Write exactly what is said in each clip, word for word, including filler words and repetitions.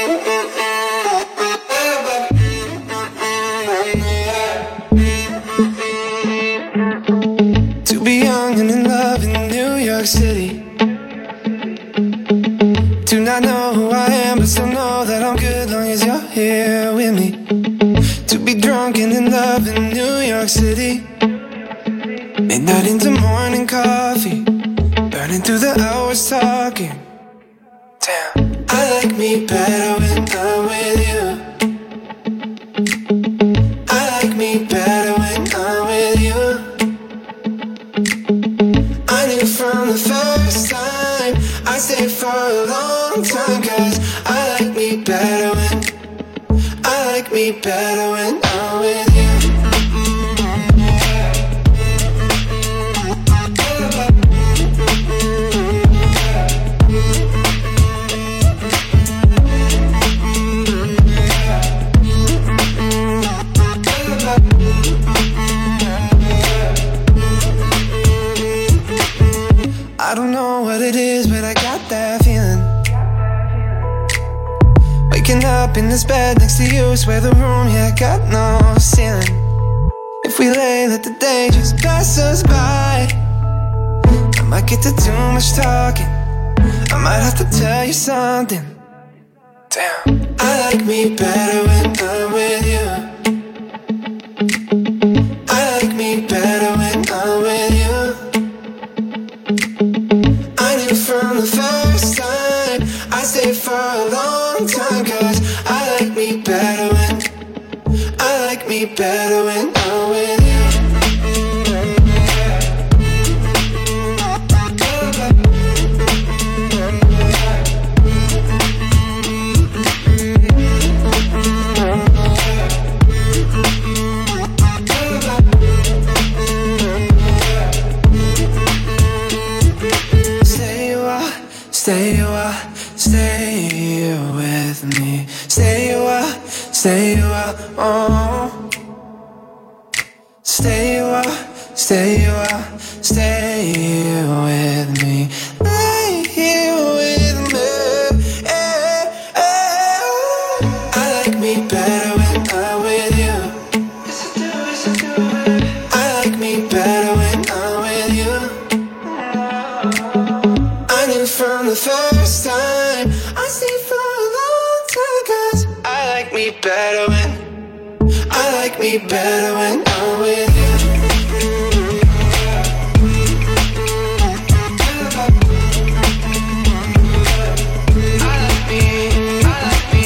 City. Do not know who I am, but still know that I'm good long as you're here with me. To be drunk and in love in New York City. Midnight into morning coffee, burning through the hours talking. Damn, I like me better when I'm with you. I like me better when I'm with you. I knew from the first time I stayed for a long time, cause I like me better when I like me better when I'm with you. I don't know what it is, but I got that feeling. Waking up in this bed next to you, swear the room, yeah, got no ceiling. If we lay, let the day just pass us by. I might get to too much talking, I might have to tell you something. Damn, I like me better when I'm with you. I like me better when I'm with you. From the first time I stayed for a long time, cause I like me better when I like me better when I'm with you. Stay a while, stay with me. Stay a while, stay a while, oh. Stay a while, stay a while, stay with me. Lay here with me, yeah, yeah. I like me better when I'm with you. Yes I do, yes I do. I like me better when I'm with you. From the first time I stayed for a long time, cause I like me better when I like me better when I'm with you. I like me, I like me.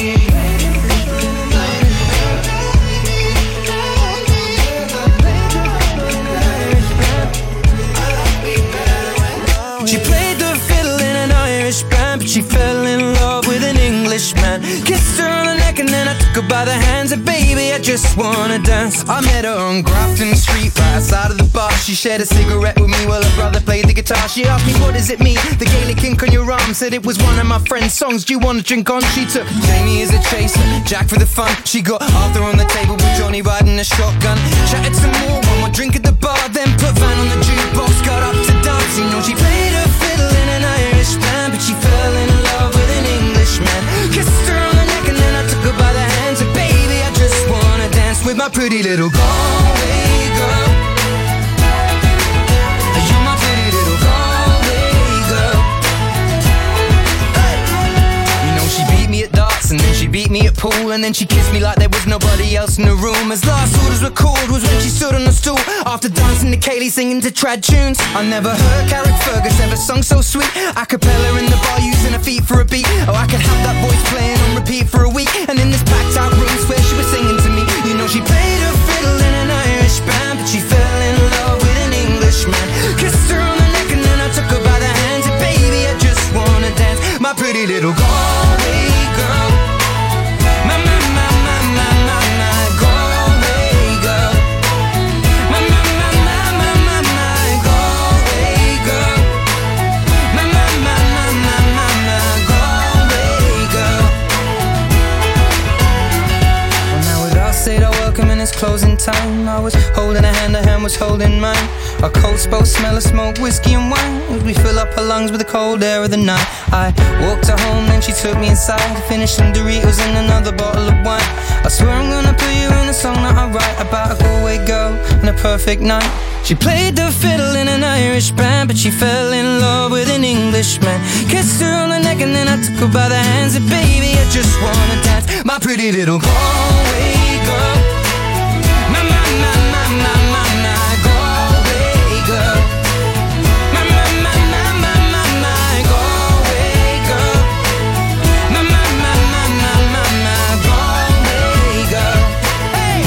I like me better when I'm with you. She played the fiddle in an Irish band, but she fell in love with an Englishman. Kissed her on the neck and then I took her by the hands, and baby, I just wanna dance. I met her on Grafton Street, right outside of the bar. She shared a cigarette with me while her brother played the guitar. She asked me, what does it mean, the Gaelic ink on your arm? Said it was one of my friend's songs, do you wanna drink on? She took Jamie as a chaser, Jack for the fun. She got Arthur on the table with Johnny riding a shotgun. Chatted some more, one more drink at the bar, then put Van on the jukebox, got up to dance. You know she played her fiddle in an Irish band, but she fell in love with an Englishman. Kissed her on the neck and then I took her by the hands, and baby, I just wanna dance with my pretty little Galway girl. You're my pretty little Galway girl. Hey. You know she beat me at darts and then she beat me at pool, and then she kissed me like there was nobody else in the room. As last orders were called was when she stood on the stool, after dancing to Kaylee singing to trad tunes. I never heard Carrick Fergus ever sung so sweet. A cappella in the bar using her feet for a beat. Oh, I could have that voice playing on repeat for a week. And in this packed out room, swear she was singing to me. You know she played her fiddle in an Irish band, but she fell in love with an Englishman. Kissed her on the neck and then I took her by the hands, and baby, I just wanna dance. My pretty little Galway girl. My, my, my, my, my, my, my Galway girl. My, my, my, my, my, my, my Galway girl. My, my, my, my, my, my, my Galway girl. closing time. I was holding her hand, her hand was holding mine. Our coats both smell of smoke, whiskey and wine, as we fill up her lungs with the cold air of the night. I walked her home, then she took me inside, finished some Doritos and another bottle of wine. I swear I'm gonna put you in a song that I write about a Galway girl and a perfect night. She played the fiddle in an Irish band, but she fell in love with an Englishman. Kissed her on the neck and then I took her by the hands, and baby, I just wanna dance, my pretty little Galway girl. My, my, my, my, my, my, my Galway girl. My, my, my, my, my, my, my Galway girl. My, my, my, my, my, my, my Galway girl. Hey!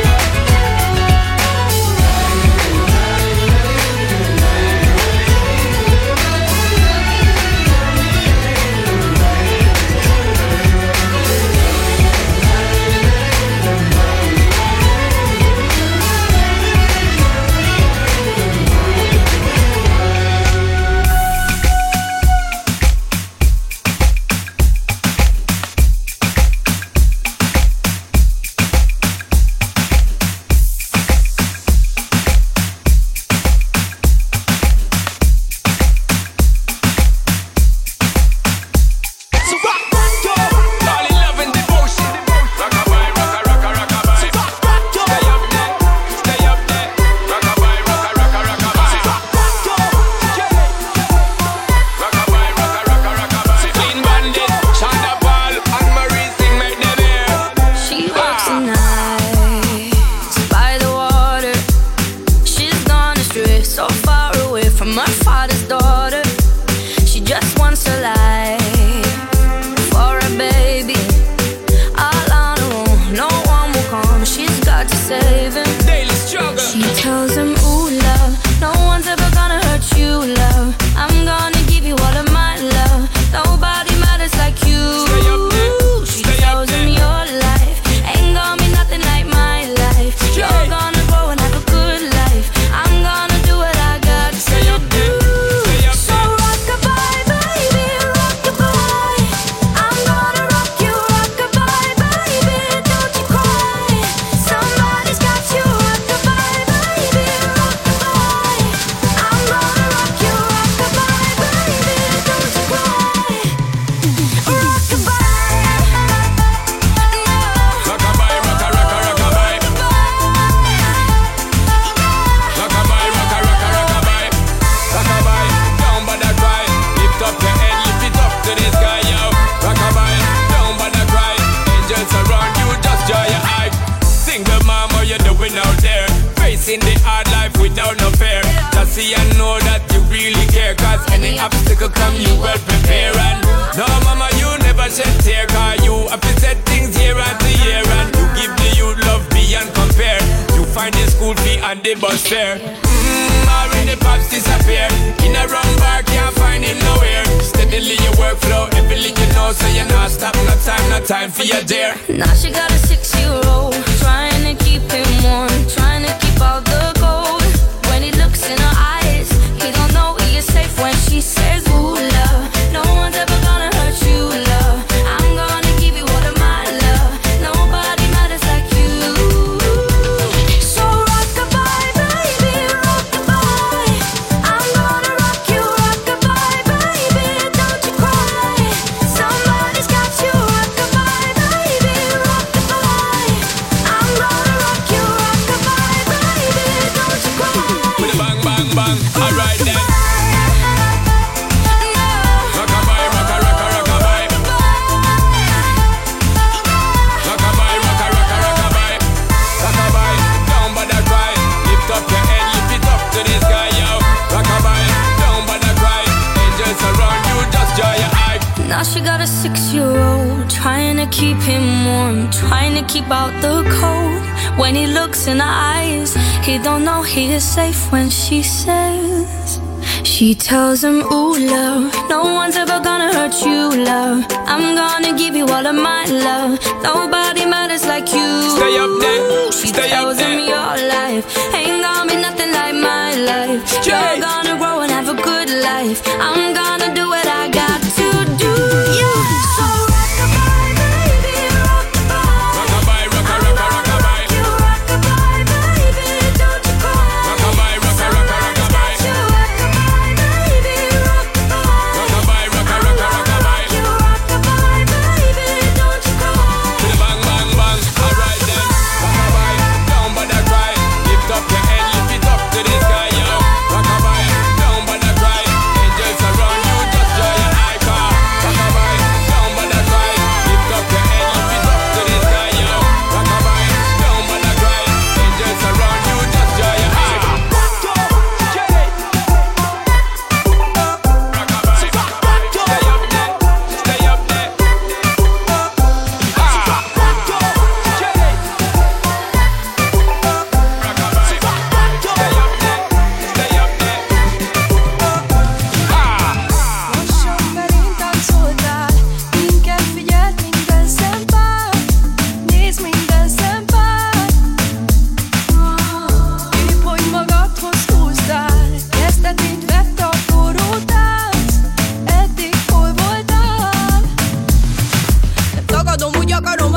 She tells him, ooh, love, no one's ever gonna hurt you, love. I'm gonna give you all of my love. Nobody matters like you. Stay up there. She Stay tells up there. him your life ain't gonna be nothing like my life. You're gonna grow and have a good life. I'm gonna do what I got to do. Yeah. So rockabye, baby, rockabye. Rockabye, rocka, rocka, rockabye. You rockabye.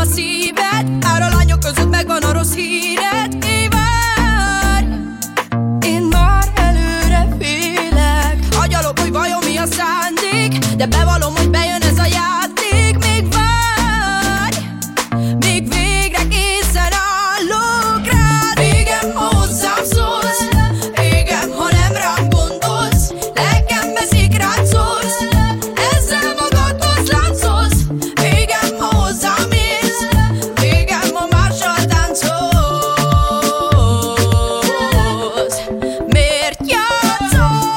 szíved. Pár a lányok között megvan a rossz híred. Mi várj? Én már előre félek. Agyalok, hogy vajon mi a szándék, de bevallom, hogy bejön ez a játék. Még várj, még végre készen állok rád. Végem, ha hozzám szólsz, végem, ha nem rám gondolsz. Lelkem veszik, rád szólsz, ezzel magadhoz láncolsz. Végem, ha hozzám érsz, végem, ha mással táncolsz. Miért játszol?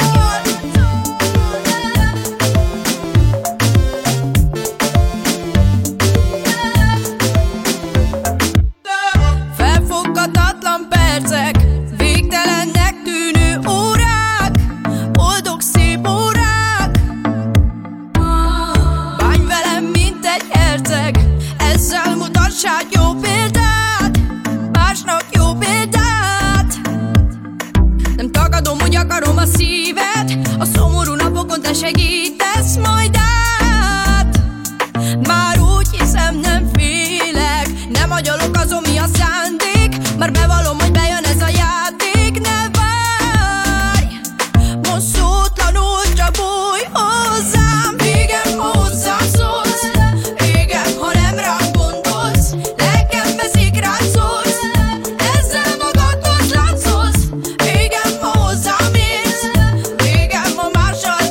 Felfoghatatlan percek, végtelennek tűnő órák, boldog szép órák. Bánj velem, mint egy herceg, ezzel mutassál jó példát, másnak jó példát. Nem tagadom, hogy akarom a szíved, a szomorú napokon te segítesz majd át. Már úgy hiszem, nem félek, nem agyalok azon, mi a szándék. Már bevallom, hogy bejön ez a játék. Ne várj, most szótlanul csak bújj hozzám. Végem, ha hozzám szólsz, végem, ha nem rám gondolsz. Lelkem veszik, rád szólsz, ezzel magadhoz láncolsz. Végem, ha hozzám érsz, végem, ha mással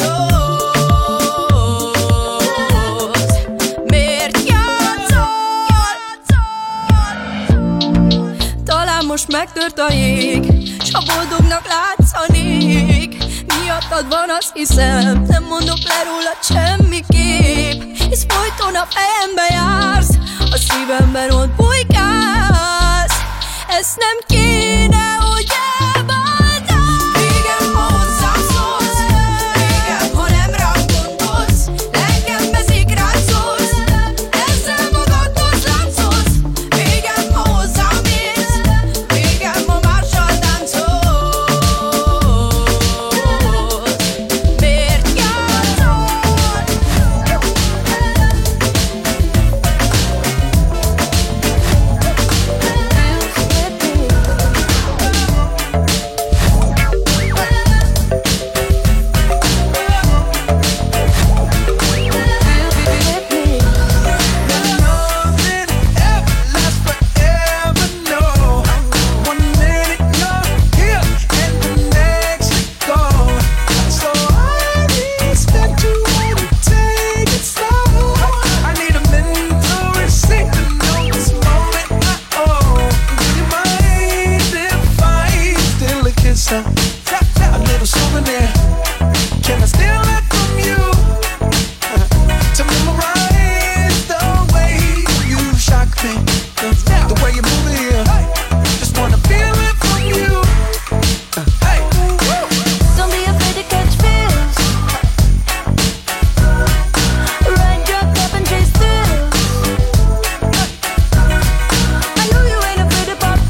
táncolsz. Miért játszol? Talán most megtört a jég, s ha boldognak látszanék. Miattad van, azt hiszem, nem mondok le rólad semmiképp. Hisz folyton a fejembe jársz, a szívemben ott bujkálsz. Ezt nem kéne, hogy elváltál. Végem, ha hozzám szólsz, végem, ha nem rám gondolsz. Lelkem veszik, rád szólsz, ezzel magadhoz láncolsz. Végem, ha hozzám érsz, végem, ha mással táncolsz. Miért játszol? A little souvenir. Can I steal it from you? To memorize the way you shock me, the way you move it here. Just wanna feel it from you. Hey, Don't be afraid to catch feels. Ride, drop, up and chase thrills. I know you ain't afraid to pop.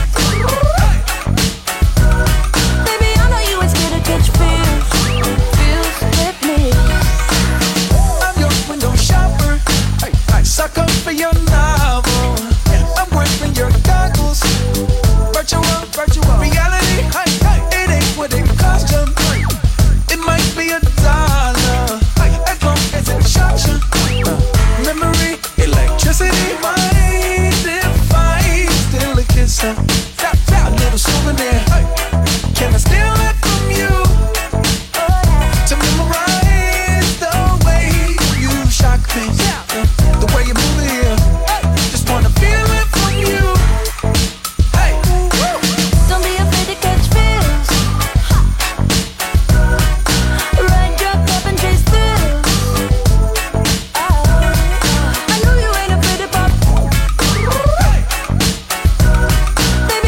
Baby, I know you ain't scared to catch feels. Feels hit me. I'm your window shopper. Hey, I suck up for your novel. I'm wearing your goggles. Virtual, virtual reality. Hey, hey, it ain't what it cost you. It might be a dollar, as long as it shocks you. Memory, electricity. Mind if I steal a kiss? A little souvenir. Can I steal it from you? To memorize the way you shock me, the way you move it here. Just wanna feel it from you. Hey, Don't be afraid to catch feels. Ride, drop, up and chase thrills. I know you ain't afraid to pop. Baby,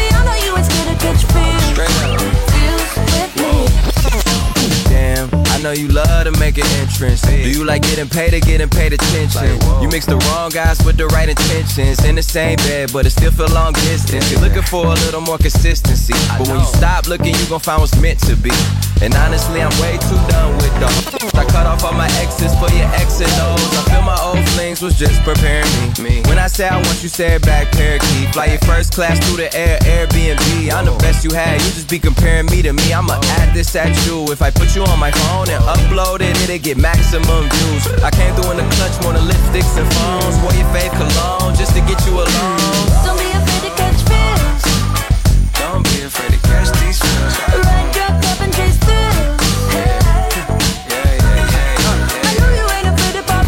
Do you like getting paid or getting paid attention? You mix the wrong guys with the right intentions. In the same bed, but it still feel long distance. You're looking for a little more consistency, but when you stop looking, you gon' find what's meant to be. And honestly, I'm way too done with the I cut off all my exes for your X and O's. I feel my old flings was just preparing me. When I say I want you, say it back, parakeet. Fly your first class through the air, Airbnb. I'm the best you had, you just be comparing me to me. I'ma add this at you. If I put you on my phone and upload it, it'll get maximum views. I came through in the clutch, more than lipsticks and phones. Wore your fave cologne just to get you alone. Don't be afraid to catch feels. Don't be afraid to catch these feels. Ride your cup and chase thrills. Hey. Yeah, yeah, yeah, yeah. I know you ain't afraid to pop.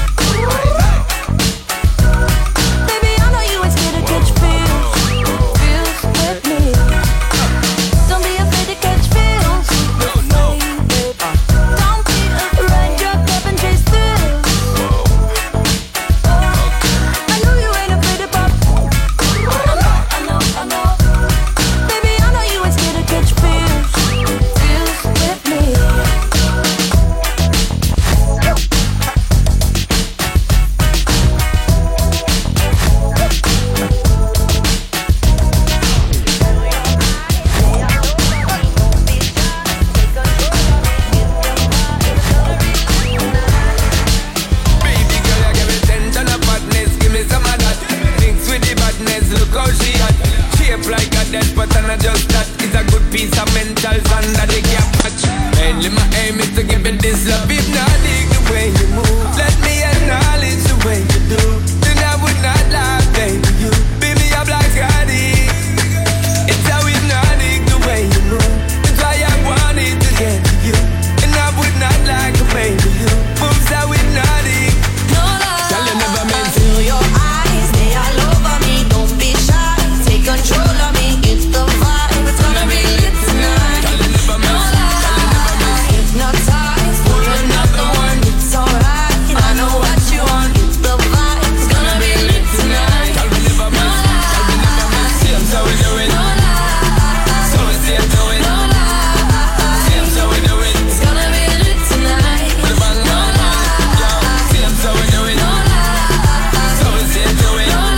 Baby, I know you ain't scared to catch feels. Feels with me. Don't be afraid to catch feels. No, no. Don't be afraid. Ride your cup and chase thrills. I know you ain't afraid to pop. I know, I know, I know. Baby, I know you ain't scared to catch feels. Feels with me. Baby girl, you give me ten ton of badness, give me some of that. Mix with the badness, look how she hot. Shape like a death, but I'm not just that. It's a good piece of mental sand that they can't match. Mainly my aim is to give it this love. If not, dig the way you move. Let me acknowledge the way you do. Then I would not lie, baby, you. Beat me up like Scotty. It's how hypnotic the way you move. That's why I wanted to get to you. And I would not like a baby, you. Moves how hypnotic. No lie. Tell you never meant to. Feel your eyes, they all over me. Don't be shy, take control of me. It's the vibe, it's gonna be lit tonight. Tell you never No meant to. lie. Hypnotized for another one. It's alright. I know what you want. It's the vibe, it's gonna be lit tonight. Tell me never No meant to. Tell me never meant to. See him so we do it. No lie. So we see him do it. No lie. See him so we do it. It's gonna be lit tonight. With a bang No bang bang. Yo, lie. see him so we do it. No lie. So we see him do it. No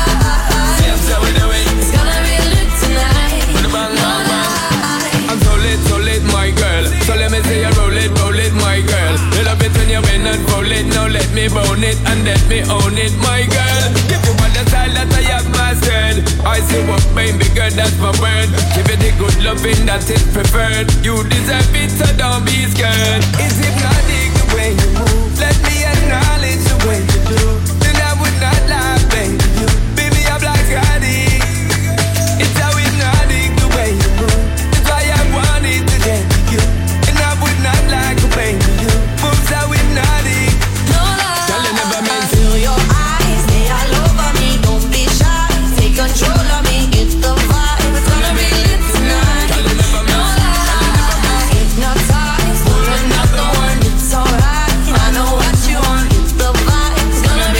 lie. See him so we do it. It's gonna be lit tonight. With a bang No bang bang. lie. I'm so lit, so lit, my girl. So let me say you roll it, roll it, my girl. You love it when you bend and roll it. Now let me bone it and let me own it, my girl. Give you all the style that I have mastered. I say what baby girl, that's my word. Give you the good loving that is preferred. You deserve it, so don't be scared. Is hypnotic the way you move. Let me acknowledge the way you do. Then I would not lie, baby. You beat me up like Scotty. It's how hypnotic the way you move. That's why I wanted to get to you. And I would not like a baby. You moves how hypnotic. No lie. Tell you never meant to. Feel your eyes, they all over me. Don't be shy, take control of me. It's the vibe, it's gonna be lit tonight. Tell you never No meant to. lie. Hypnotized for another one. It's alright. I know what you want. It's the vibe, it's gonna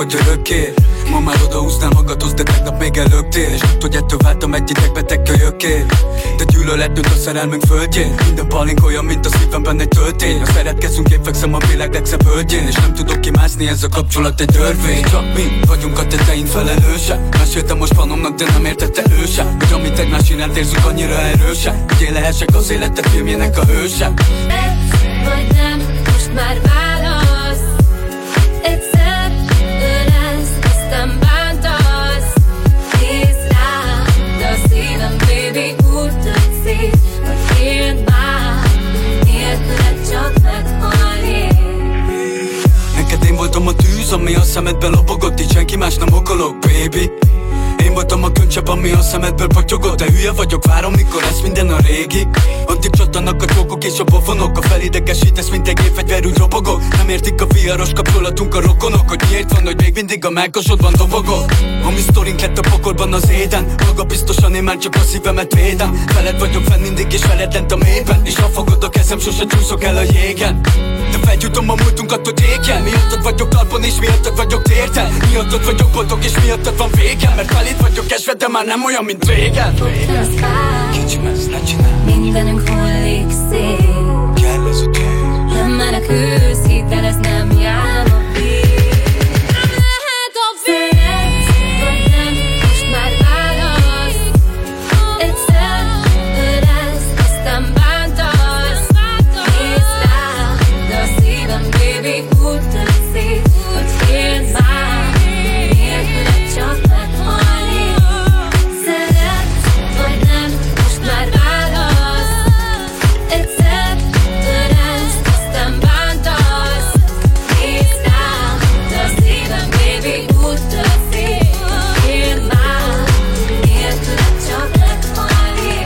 hogy örökké. Ma már odahúznál magadhoz, de tegnap még elöktél. És tudod, hogy ettől váltam egy idegbeteg kölyökké. De gyűlölet nőtt a szerelmünk földjén. Minden palink olyan, mint a szívemben egy töltény. Ha szeretkezünk, én fekszem a világ legszebb hölgyén. És nem tudok kimászni, ez a kapcsolat egy törvény. Csak mi vagyunk a teteink felelősek. Meséltem most panomnak, de nem értette ő sem, hogy amit egymás iránt érzünk annyira erősek, hogy én lehessek az életed filmjének a hőse. Egy vagy nem, most már válasz. Egyszer ő lesz, aztán bántasz. Nézd rám, de a szívem, baby, úgy tetszik, hogy éld már, nélküled csak meghalni. Neked én voltam a tűz, ami a szemedben lobogott, így senki más nem okolok, baby. Én voltam a könycsepp, ami a szemedből patyogott. De hülye vagyok, várom, mikor lesz minden a régi. Addig csattanak a csókok és a pofonok. A felidegesítesz, mint egy gépfegyver, úgy robogok. Nem értik a viharos kapcsolatunk a rokonok, hogy miért van, hogy még mindig a mákosodban dobogok. A mi sztorink lett a pokolban az éden. Maga biztosan én már csak a szívemet védem. Veled vagyok fenn mindig és veled lent a mélyben. És ha fogod a kezem, sose csúszok el a jégen. De felgyújtom a múltunkat, hogy égjen. Miattad vagyok talpon és miattad vagyok térden. Miattad vagyok boldog és miattad van végem. Mert felét vagyok esve, de már nem olyan, mint régen. Kicsim, ezt ne csinálj. Mindenünk hullik szét. Kell ez a tűz. Nem menekülsz, hidd el, ez nem jár a víz. Nem lehet a víz. Vagy nem, most már válasz. Egyszer ő lesz, aztán bántasz. Nézd rám, de a szívem, baby, úgy tetszik, hogy éld már, nélküled csak meghalni. Szeretsz, vagy nem, most már válasz. Egyszer ő lesz, aztán bántasz. Nézd rám, de a szívem, baby, úgy tetszik, hogy éld már, nélküled csak meghalni.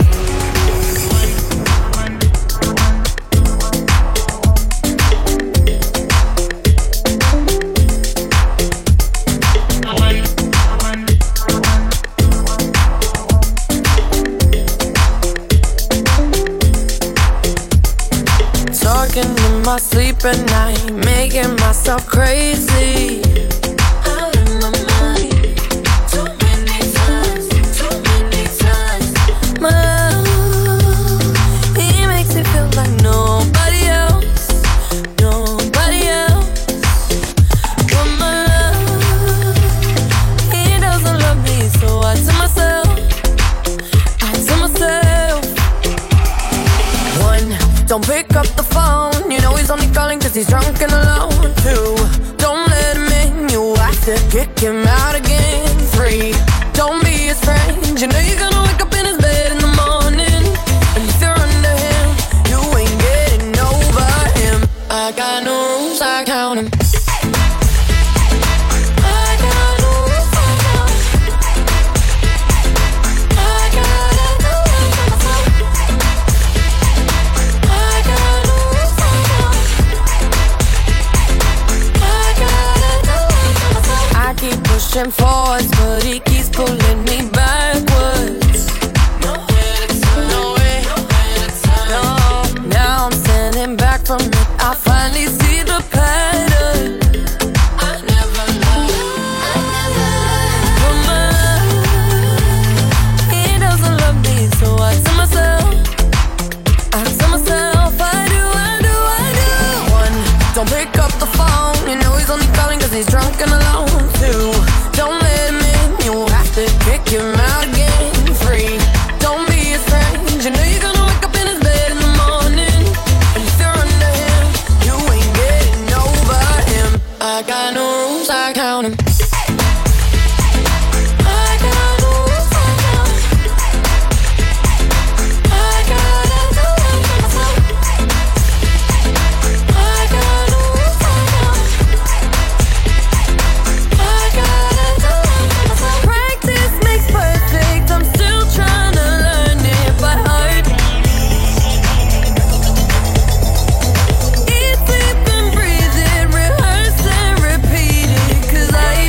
Talking in my sleep at night, making myself crazy. Out of my mind, too many times, too many times. My love, he makes me feel like nobody else, nobody else. But my love, he doesn't love me, so I tell myself, I tell myself. One, don't pick up the phone, you know he's only calling cause he's drunk and alone. Two, don't let him in, you have to kick him out again. Three, don't be his friend, you know you're gonna wake up in his bed in the morning. And if you're under him, you ain't getting over him. I got no rules, I count them. I got no rules, I count 'em. I gotta do it for myself. I got no rules, I count 'em. I gotta do it for myself. I keep pushing forwards, but he keeps pulling me backwards. Nowhere to turn, nowhere, nowhere to turn. No, now I'm standing back from it. I finally see the pattern. I never loved, I never loved. But my love, he doesn't love me, so I tell myself, I tell myself, I do, I do, I do. One, don't pick up the phone, you know he's only calling cause he's drunk and alone. Two, don't let him in, you have to kick him out again. Three, don't be his friend, you know you're gonna wake up in his bed in the morning. And if you're under him, you ain't getting over him. I got no rules, I count 'em. I got no rules, I count 'em. I gotta do it for myself. I got no rules, I count 'em. I gotta do it for myself. Practice makes perfect, I'm still trying to learn it by heart. Eat, sleep and breathe it, rehearse and repeat it, cause I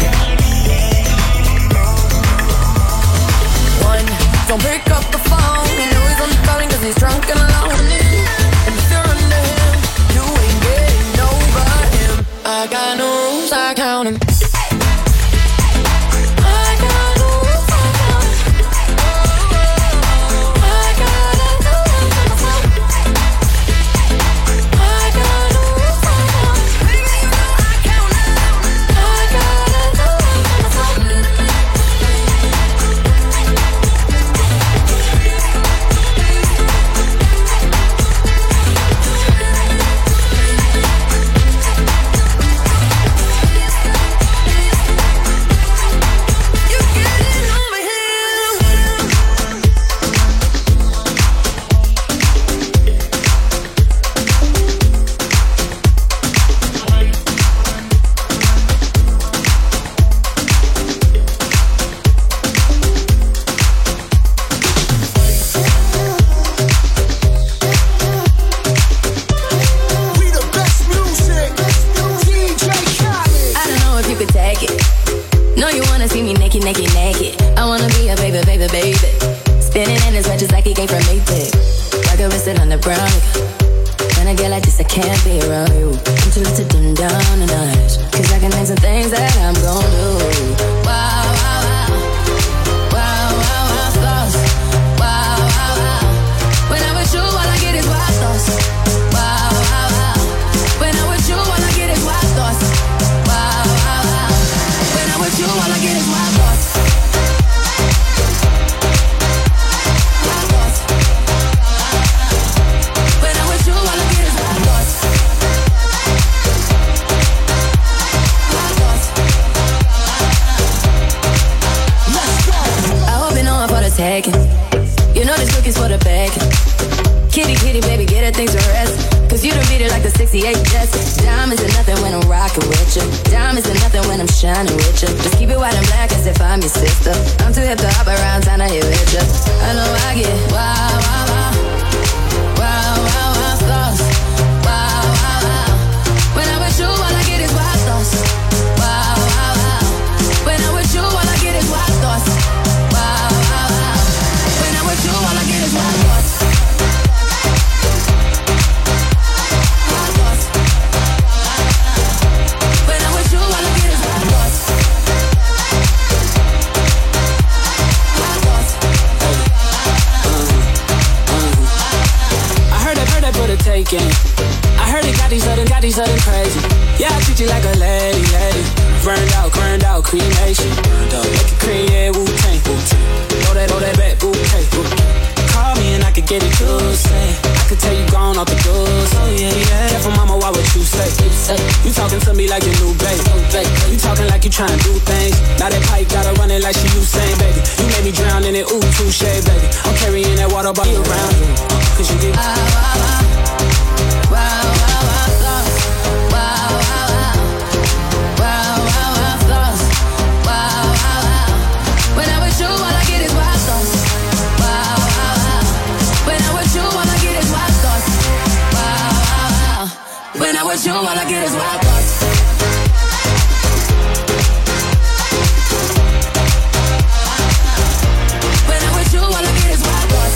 take it. No, you wanna see me naked, naked, naked. I wanna be a baby, baby, baby. Spinning in his wedges like he came from Maytag. Like a wristed on the brown. When I get like this, I can't be around you. I'm too little to dim down a notch. Cause I can name some things that I'm gon' do. Wow, wow, wow. Wow, wow, wow, thoughts. Wow, wow, wow. When I'm with you, all I get is wild thoughts. Wow, wow, wow. When I'm with you, all I get is wild thoughts. Wow, wow, wow. When I'm with you, all I get is wild thoughts. Wild thoughts. When I'm with you, all I get is wild thoughts. Wild thoughts. Let's go. I hope you know I'm for the taking. You know this cookie's for the bacon. Kitty, kitty, baby, get her things to rest. Cause you done beat it like the sixty-eight Jets. Diamonds are nothing when I'm rockin' with you. Diamonds are nothing when I'm shining with you. Just keep it white and black as if I'm your sister. I'm too hip to hop around, time to hit with you. I know I get wow, wow, wow. Wow, wow, wow, thoughts. Wow, wow, wow. When I'm with you, all I get is wild thoughts. Wow, wow, wow. When I'm with you, all I get is wild thoughts. Wow, wow, wow. When I'm with you, all I get is wild thoughts. Taking. I heard it got these other, got these other crazy. Yeah, I treat you like a lady, lady. Burned out, burned out, cremation. Make it cream, yeah, Wu-Tang. Throw that, throw that back, bouquet. Call me and I could get it, you say. I could tell you gone off the doors. Oh yeah, yeah. Careful, mama, why would you say? You talking to me like your new babe. You talking like you trying to do things. Now that pipe gotta run it like she Usain, baby. You made me drown in it, ooh, touche, baby. I'm carrying that water bottle around you. Cause you get. Wow, wow, wow. Wow, wow, wow, thoughts. Wow, wow, wow. Wow, wow, wow, thoughts. Wow, wow, wow. When I'm with you, all I get is wild thoughts. Wow, wow, wow. When I'm with you, all I get is wild thoughts. Wow, wow, wow. When I'm with you, all I get is wild thoughts. When I'm with you, all I get is wild thoughts.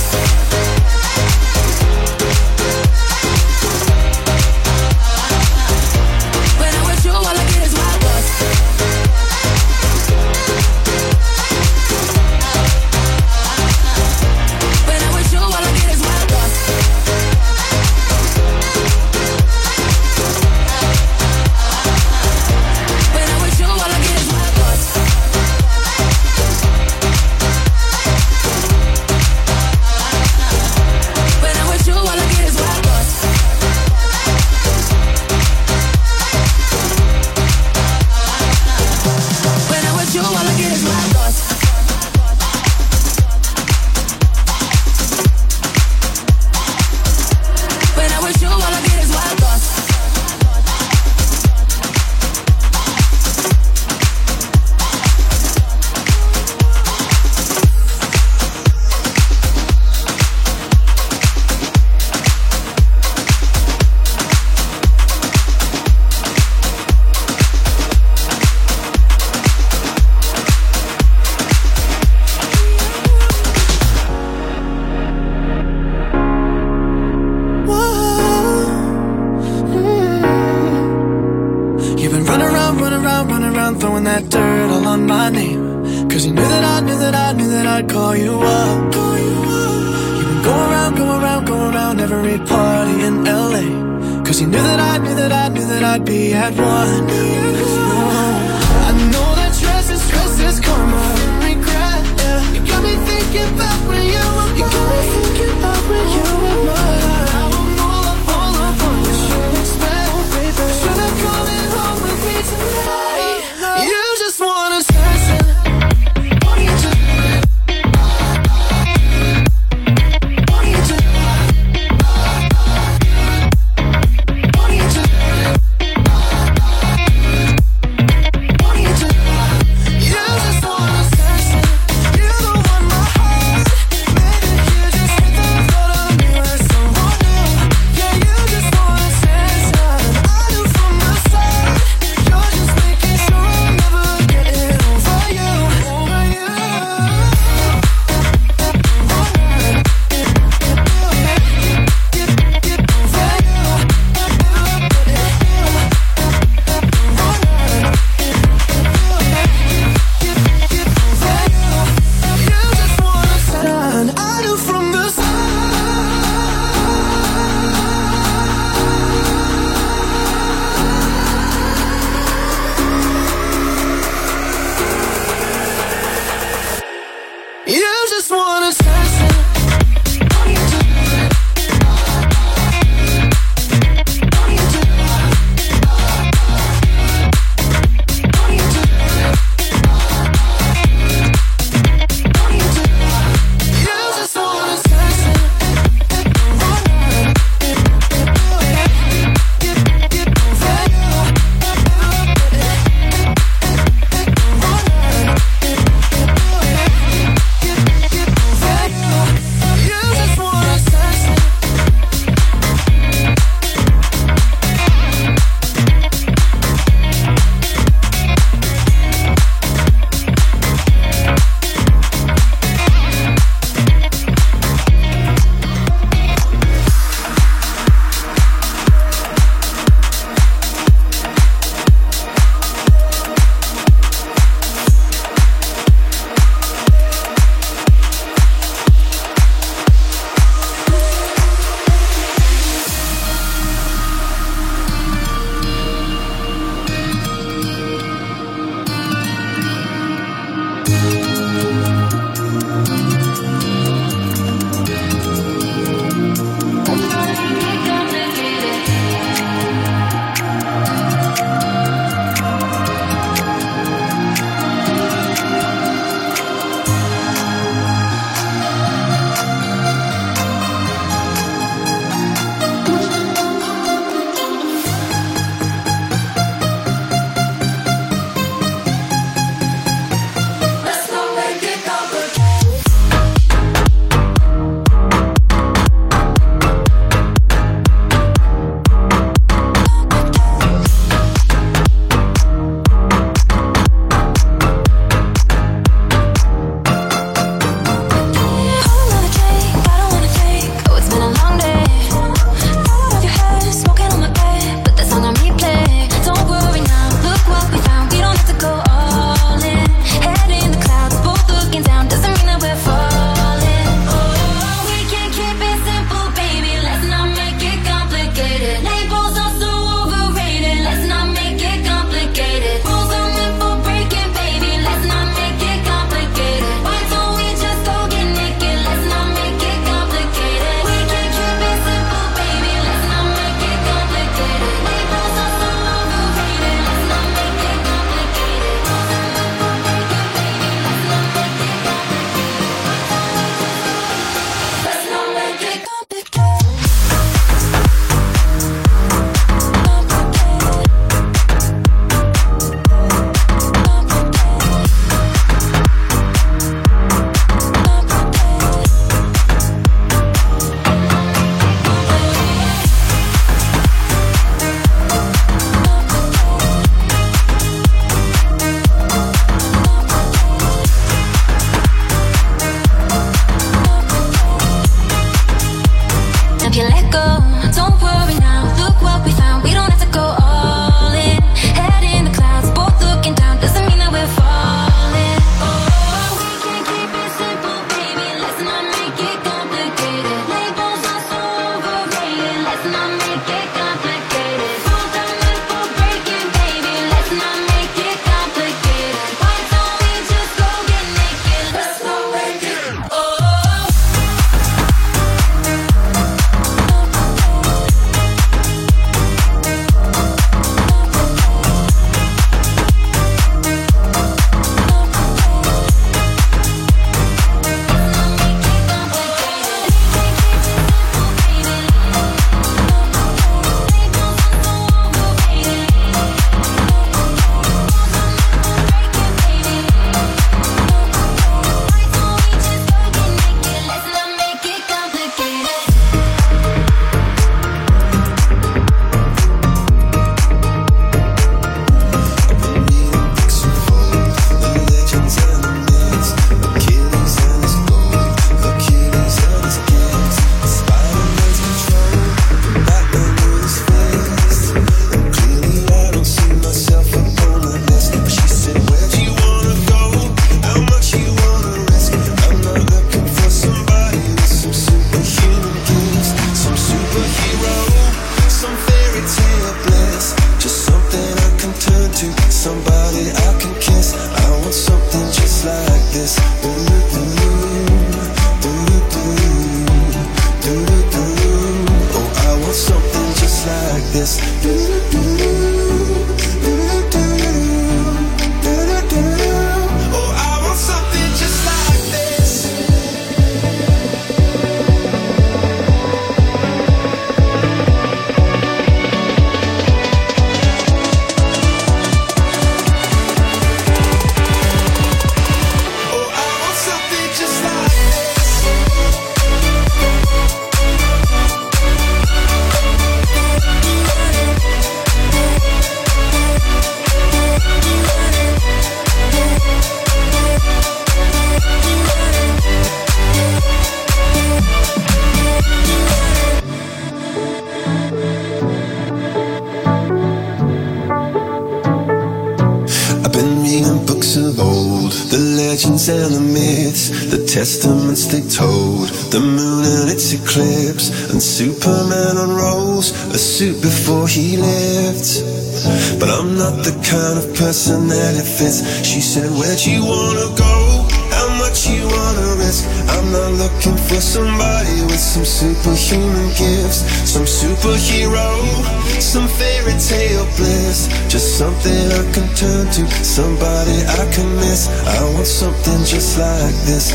been reading books of old, the legends and the myths, the testaments they told, the moon and its eclipse, and Superman unrolls a suit before he lived. But I'm not the kind of person that it fits. She said, where'd you wanna go? How much you wanna risk? I'm not looking for somebody with some superhuman gifts, some superhero, some fairy tale bliss. Just something I can turn to, somebody I can miss. I want something just like this.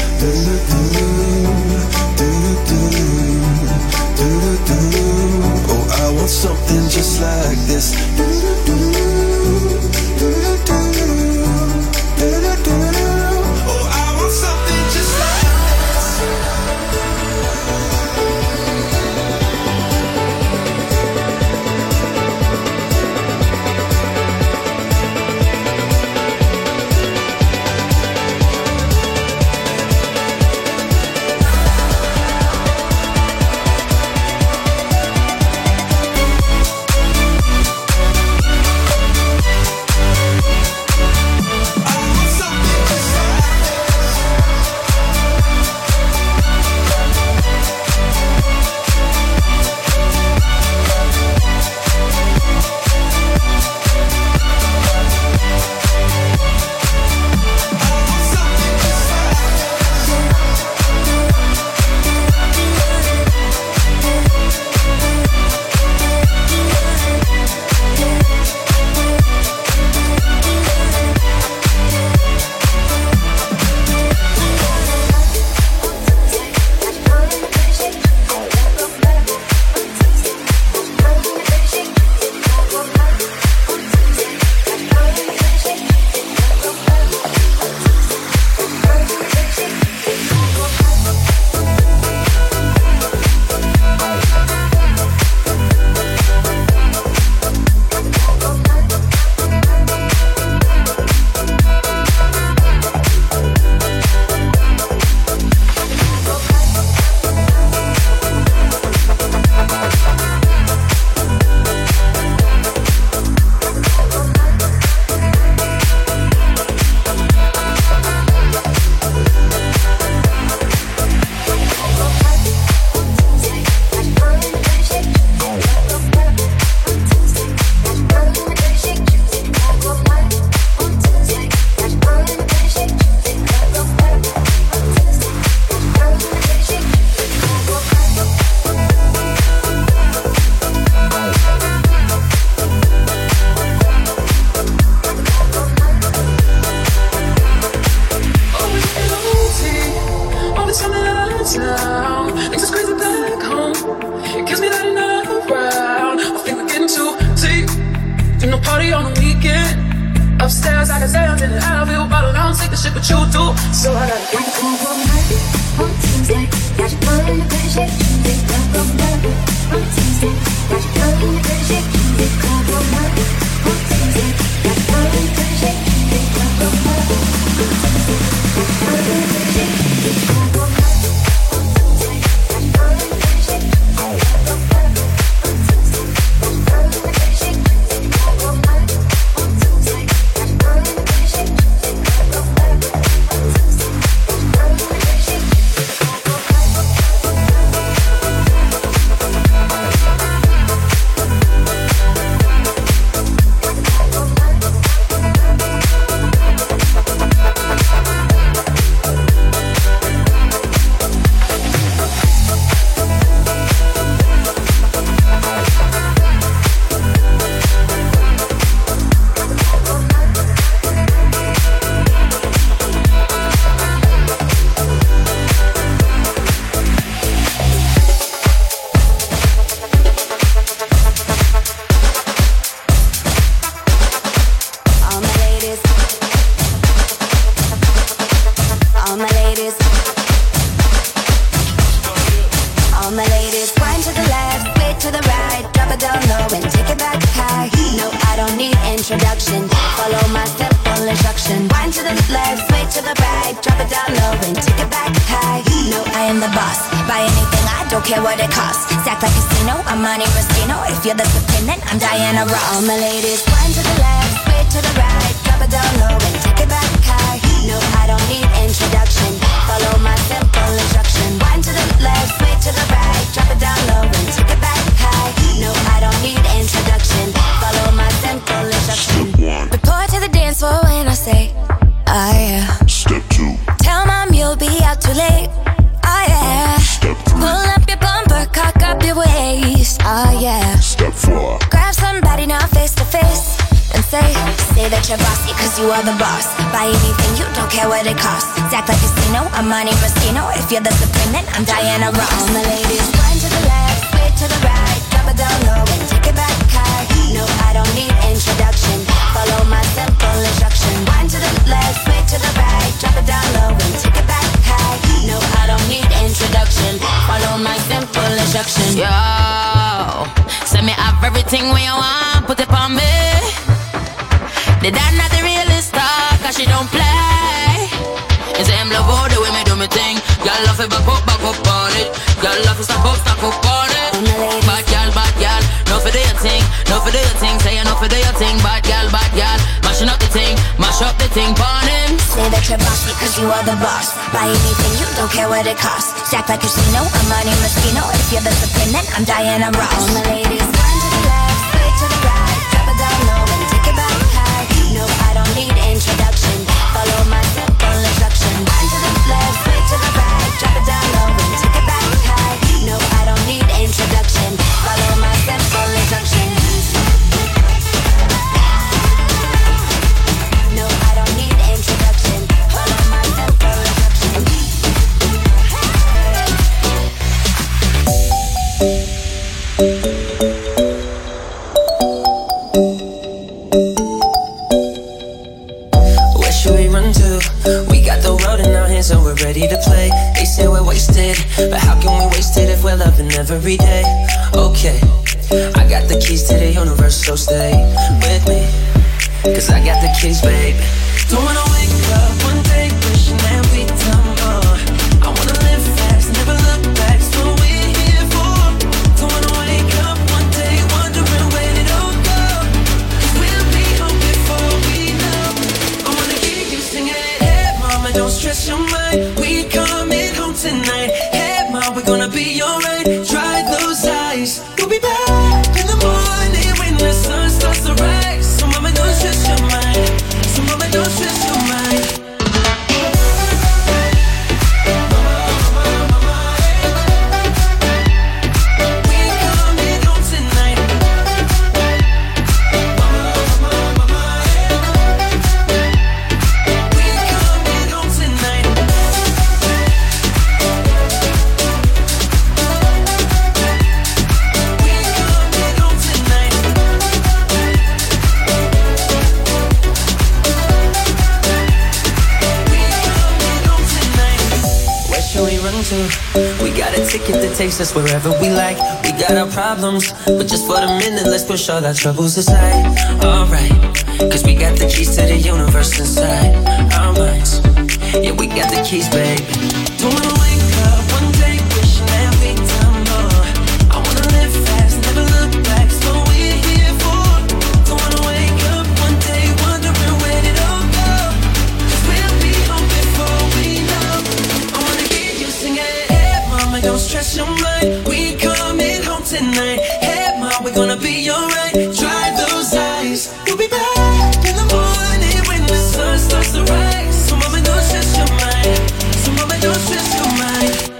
Oh, I want something just like this. If you're the supreme, then I'm Diana Ross. All my ladies, one to the left, sway to the right, drop drop it down low and take it back high. No, I don't need introduction. Follow my simple instruction. Wind to the left, sway to the right. Drop it down low and take it back high. No, I don't need introduction. Follow my simple instruction. Report to the dance floor when I say, oh yeah. Step two. Tell mom you'll be out too late. Oh yeah. Step three. Pull up your bumper, cock up your waist. Oh yeah. Step four. Grab somebody now face to face and say, say that you're bossy cause you are the boss. Buy anything, you don't care what it costs. Act like casino, I'm Monte Moschino. If you're the supreme, then I'm Diana Ross. All the ladies, wind to the left, sway to the right. Drop it down low and take it back high. No, I don't need introduction. Follow my simple instruction. Wind to the left, sway to the right. Drop it down low and take it back high. No, I don't need introduction. Follow my simple instruction. Yo, send me have everything when you want, put it on me. The dad not the realest star, cause she don't play. It's him love all the way me do me thing. Y'all love it, back up, back up on it. Y'all love it, stop up, stop up on it. Bad y'all, bad y'all, no for do your thing, no for do your thing. Say you no for do your thing, bad y'all, bad y'all. Mashing up the thing, mash up the thing, burn him. Say that you're bossy cause you are the boss. Buy anything, you don't care what it costs. Act like casino, I'm Monte Moschino. If you're the supreme, then I'm Diana Ross. All the ladies, wind to the left, sway to the right. Drop it down low and take it back high. No, I don't need introduction. Follow my simple instruction. Wind to the left, sway to the right. Drop it down low and take it back high. No, I don't need introduction. Follow my simple instruction. No, I don't need introduction. Follow my simple instruction. Where should we run to? We got the world in our hands and we're ready to play. They say we're wasted, but how can we waste it if we're loving every day? Okay, I got the keys to the universe, so stay with me, cause I got the keys, babe. Don't wanna wake up one day wishing that we'd done more. I wanna live fast, never look back, so we're here for. Don't wanna wake up one day wondering where it all go, cause we'll be home before we know. I wanna hear you singing, hey mama, don't stress your mind, we coming home tonight. Hey mama, we're gonna be alright, dry those eyes. We'll be back in the morning when the sun starts to rise. So mama, don't stress your mind, so mama, don't stress your mind. We got a ticket that takes us wherever we like. We got our problems, but just for the minute, let's push all our troubles aside. Alright, cause we got the keys to the universe inside our minds. Yeah, we got the keys, baby. Don't wanna wake up one day wishing that we'd done more. I wanna live fast, never look back, so we're here for. Don't wanna wake up one day wondering where did it all go, cause we'll be home before we know. I wanna hear you singing, hey mama, don't stress your mind, we coming home tonight. Hey mama, we're gonna be alright, dry those eyes. We'll be back in the morning when the sun starts to rise. So mama, don't stress your mind, so mama, don't stress your mind.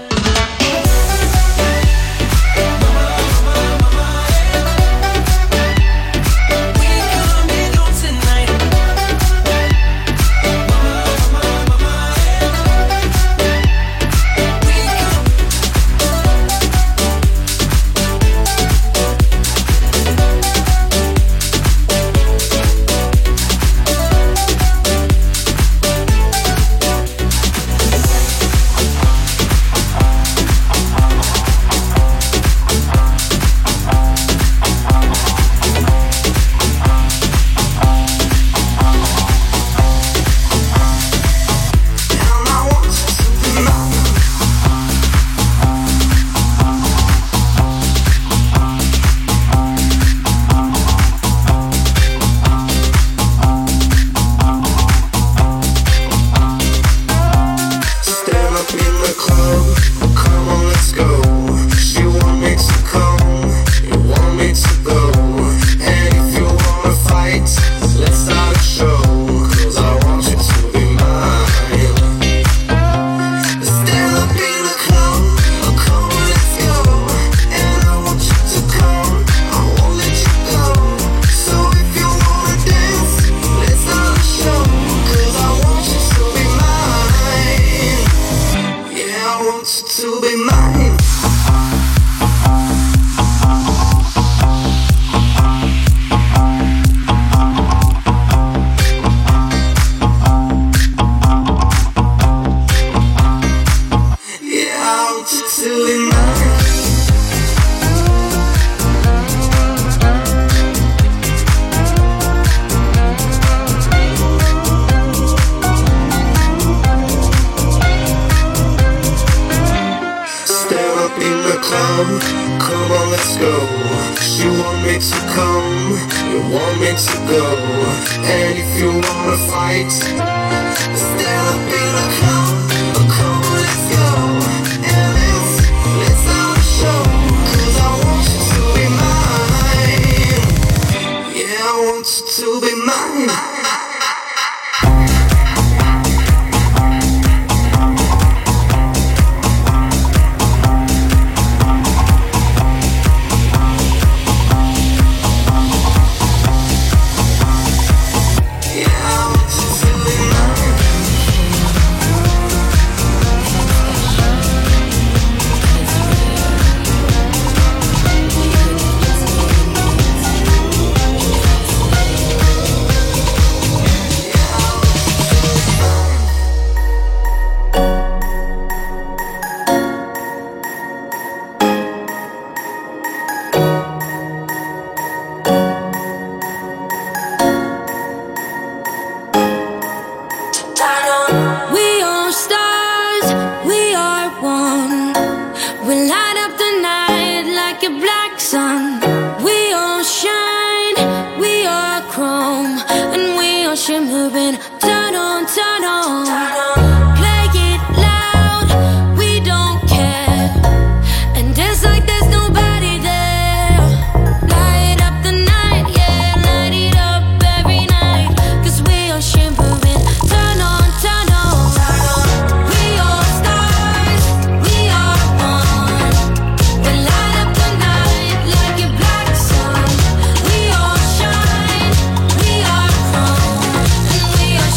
now. Come on, let's go. You want me to come, you want me to go. And if you wanna fight, stand up in a come. Come on, let's go. And let's, let's have a show. Cause I want you to be mine. Yeah, I want you to be mine. We are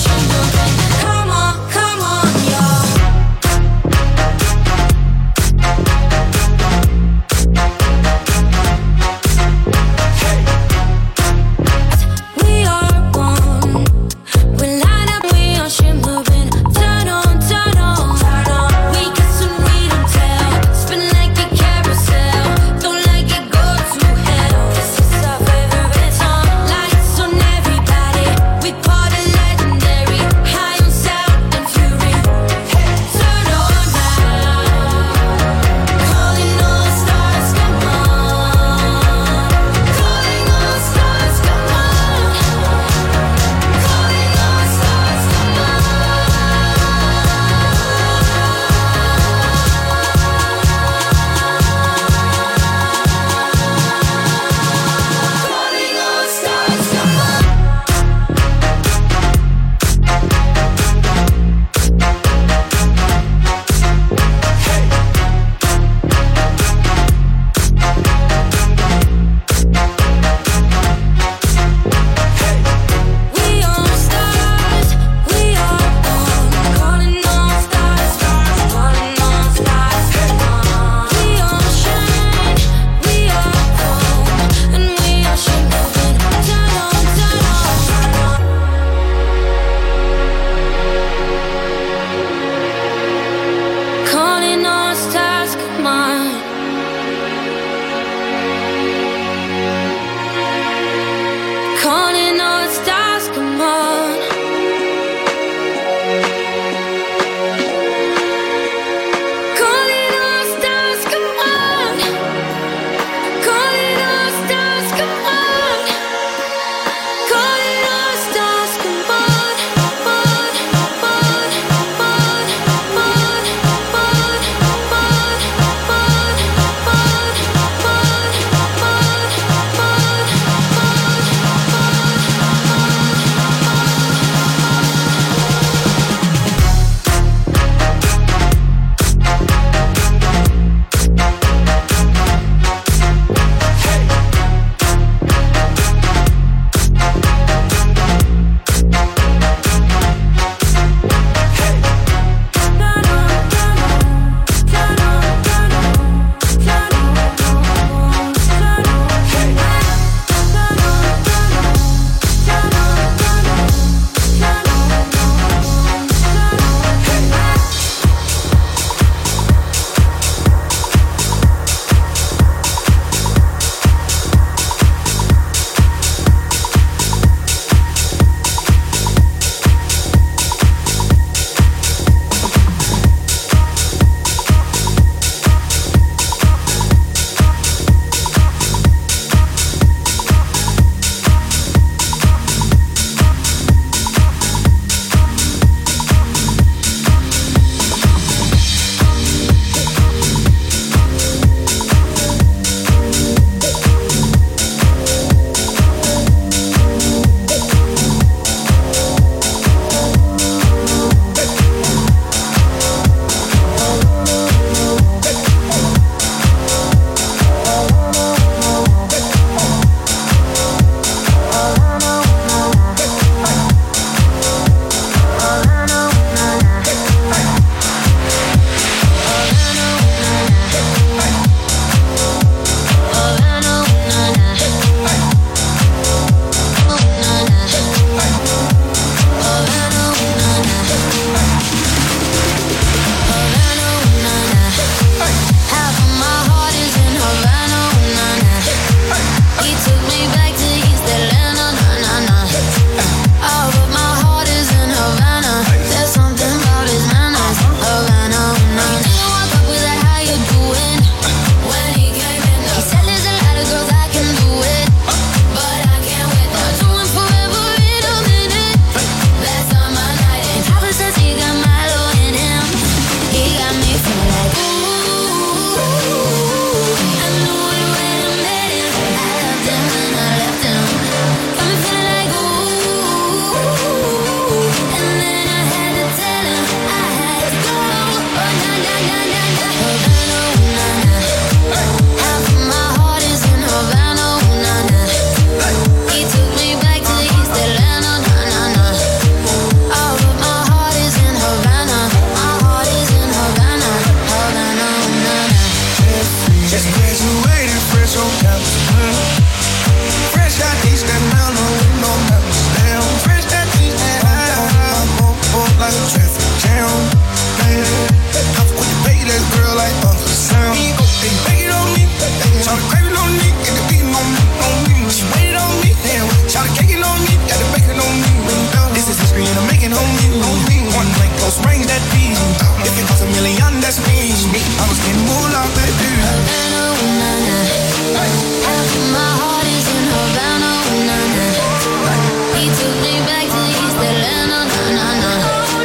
They beg it on me, try to crave it on me, get the beating on me, on me. She waited on me, damn, try to cake it on me, got the bacon on me. This is history and I'm making on me, on me. One blank close range, that beat. If it costs a million, that's me. I was getting moolah, baby. Havana, ooh, na, na. Half of my heart is in Havana, ooh, na, na. He took me back to East Atlanta, na, na, na.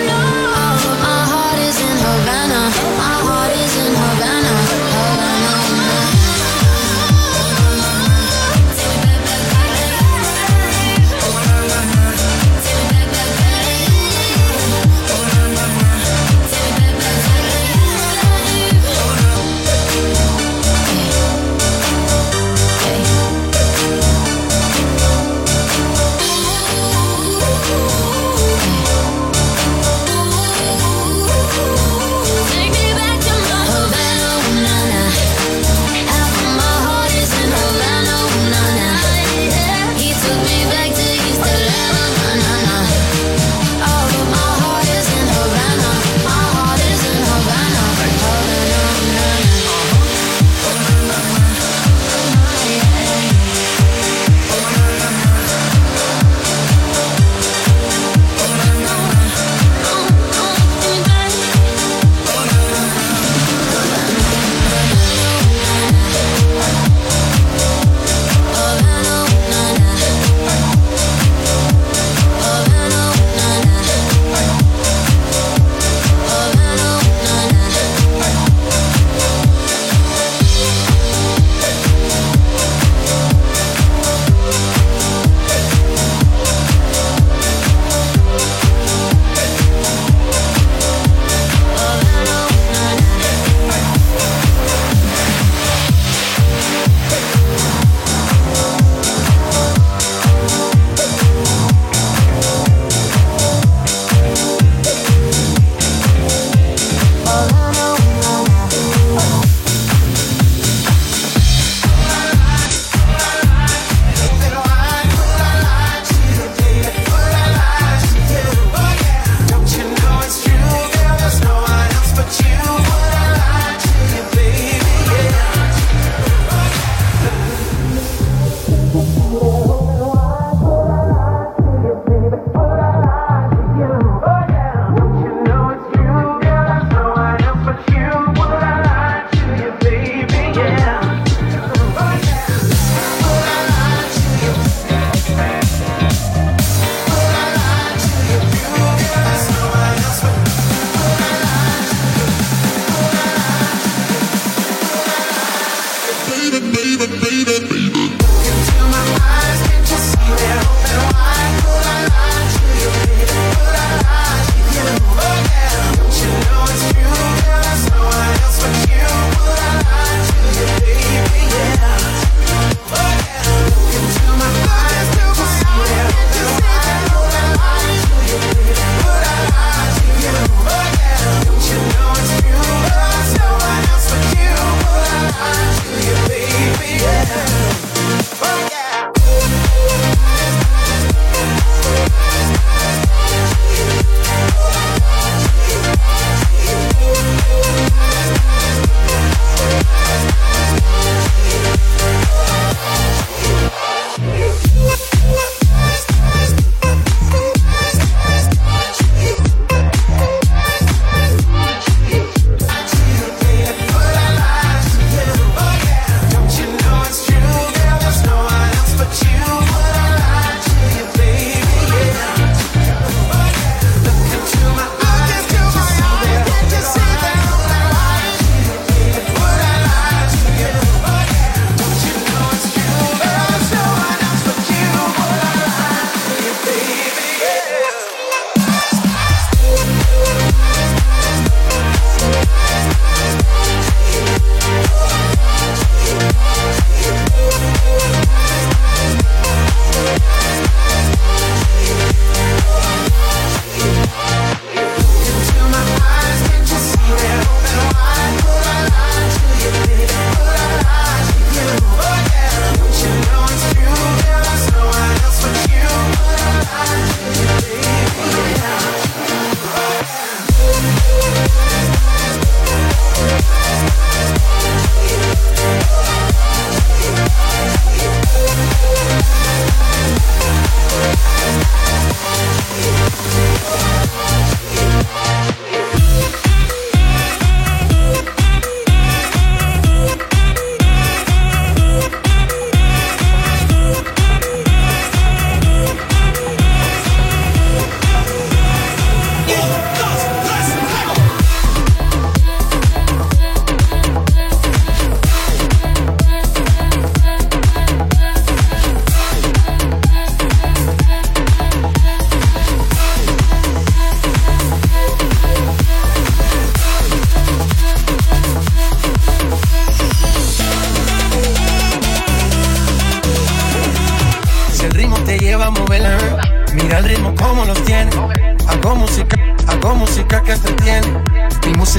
All of my heart is in Havana. My heart is in Havana, Havana, ooh,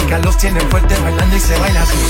chicas los tienen fuertes bailando y se baila así.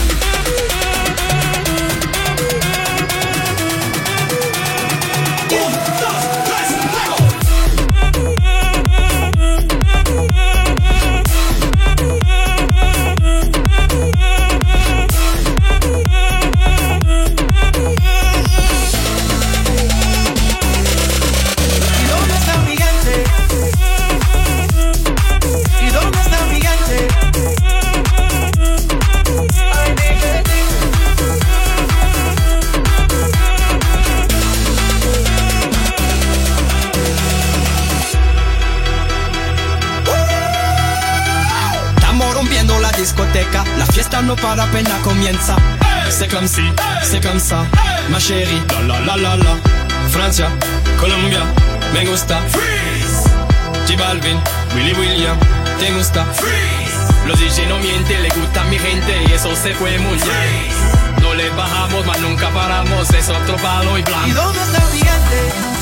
La fiesta no para apenas comienza. C'est comme si, c'est comme ça, ma chérie. La la la la la. Francia, Colombia, me gusta. Freeze. J Balvin, Willy William, te gusta. Freeze. Los D J no mienten, le gusta a mi gente y eso se fue muy bien. No le bajamos, mas nunca paramos, es otro palo y blanco. ¿Y dónde está el gigante?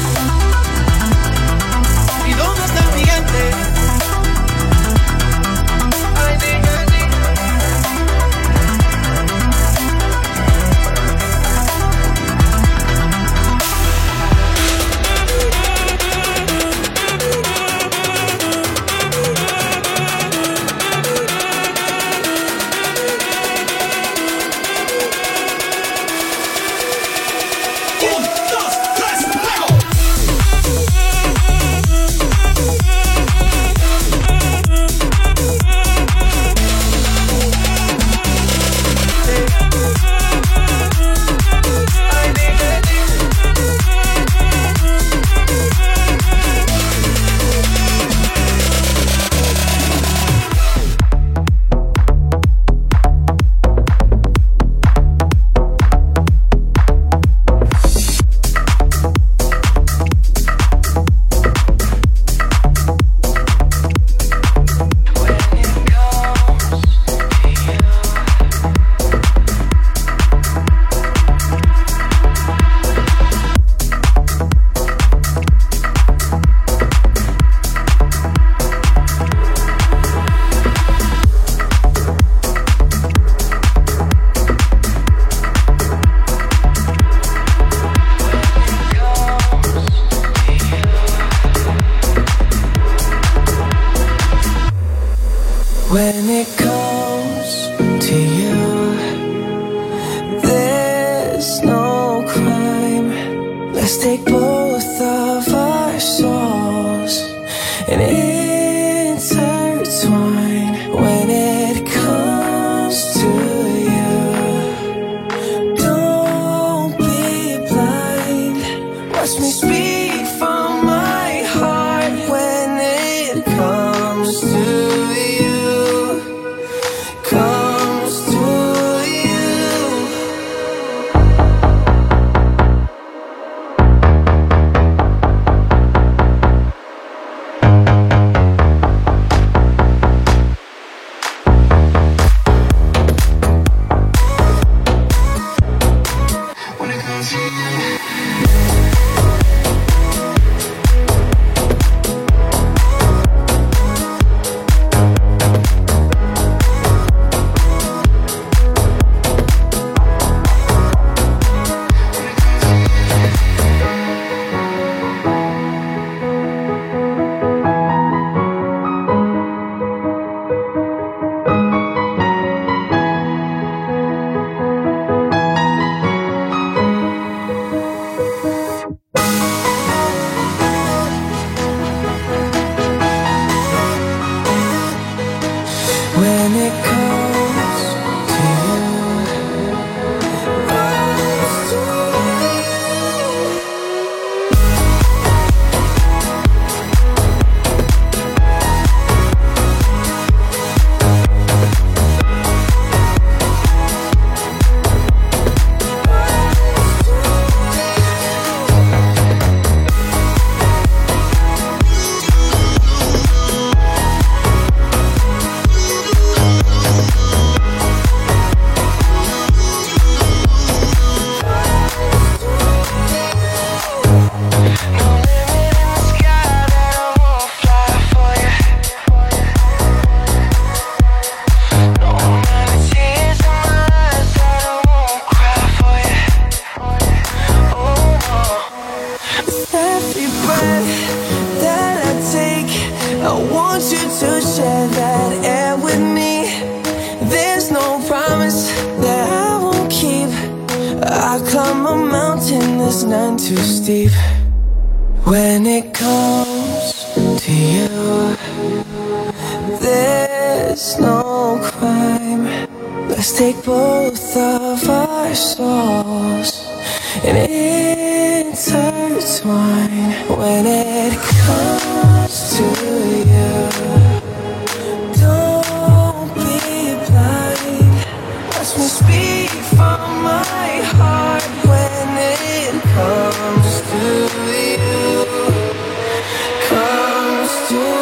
¿Y dónde está el gigante? When it comes to you, there's no crime. Let's take both of our souls and intertwine. When it comes to you, don't be blind. Watch me speak from my heart. When it comes to you, bad air with me. There's no promise that I won't keep. I climb a mountain that's none too steep. When it comes to you, there's no crime. Let's take both of our souls and intertwine. When it comes to you, don't be blind. Watch me speak from my heart. When it comes to you, comes to you.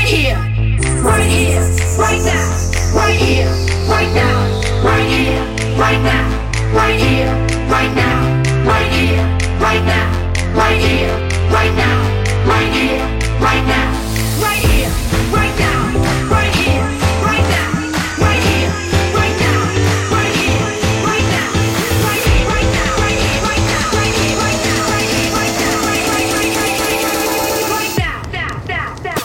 right here, right here, right now, right here, right now, right here, right now, right here, right now, right here, right now, right here, right now, right here, right now, right here, right now, right here, right now, right here, right now, right here, right now, right here, right now, right here, right now, right here, right now, right here, right now, right here, right now, right now, now, now, now.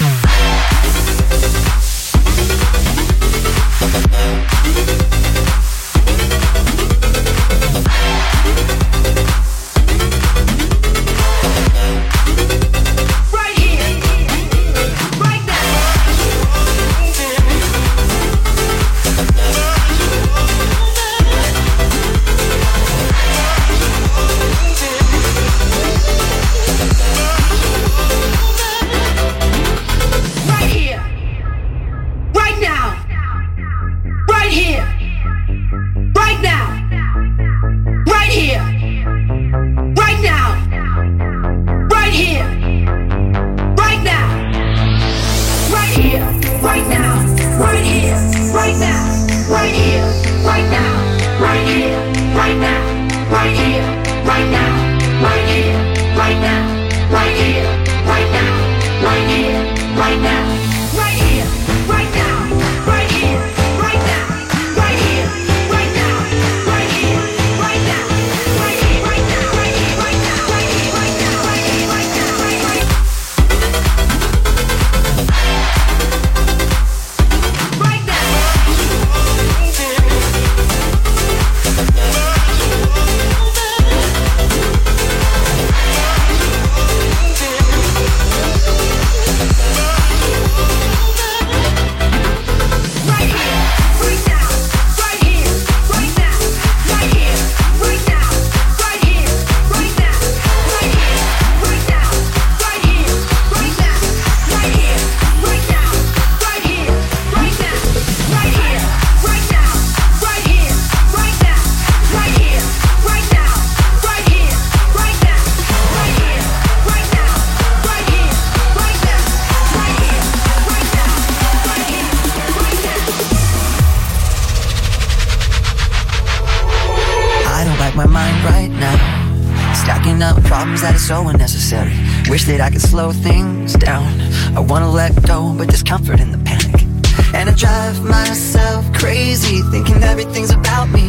So unnecessary. Wish that I could slow things down. I wanna let go, but there's comfort in the panic. And I drive myself crazy, thinking everything's about me.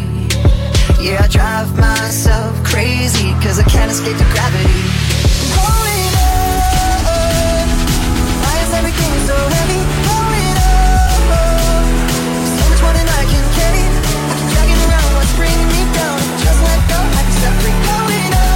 Yeah, I drive myself crazy, cause I can't escape the gravity. Going up, why is everything so heavy? Going up, so much more than I can carry. I keep dragging around what's bringing me down. Just let go, I can stop free. Going up.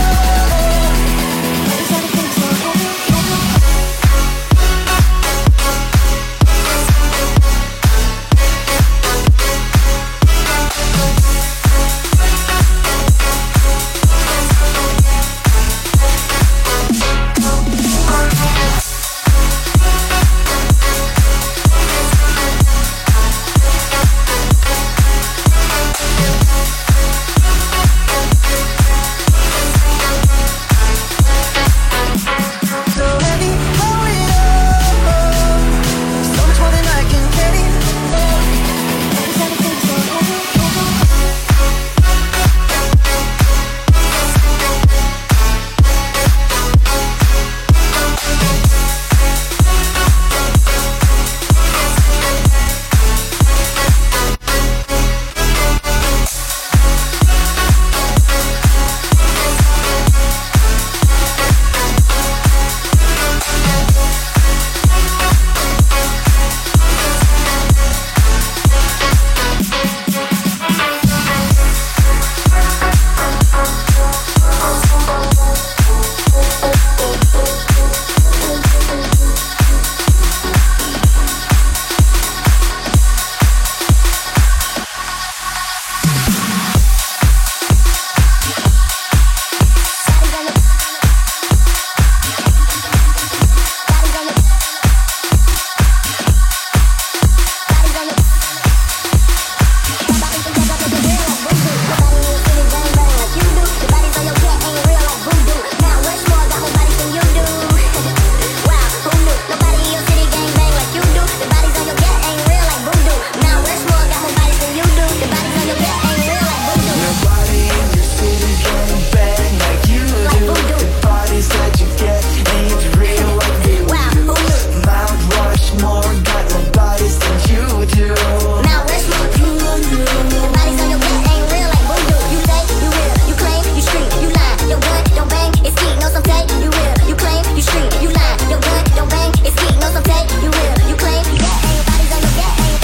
street, you lying. Your gun don't bang, it's heat, no some take. You real, you claim, you get ain't bodies on your get ain't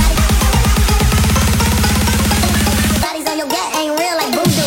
bodies. Bodies on your get ain't real like voodoo.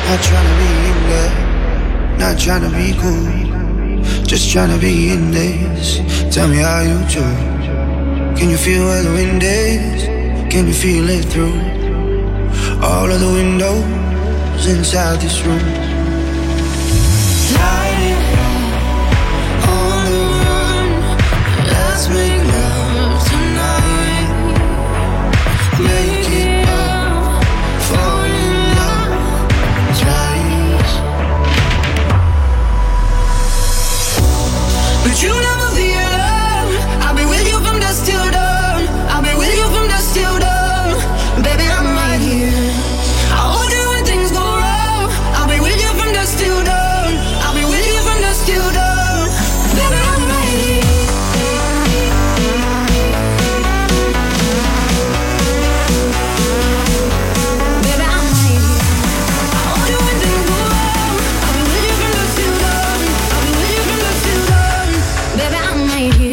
Not tryna be in there, not tryna be cool, just tryna be in this. Tell me how you do. Can you feel where the wind is? Can you feel it through all of the windows inside this room? Light on the run, let's make love tonight. Make it up, fall in love twice. But you never be alone. I'll be with you from dusk till dawn. I'll be with you from dusk till dawn. Baby, I'm right here. I'll hold you when things go wrong. I'll be with you from dusk till dawn. I'll be with you from dusk till dawn. Baby, I'm right here. Baby, I'm right here. I'll hold you when things go wrong. I'll be with you from dusk till dawn. I'll be with you from dusk till dawn. Baby, I'm right here.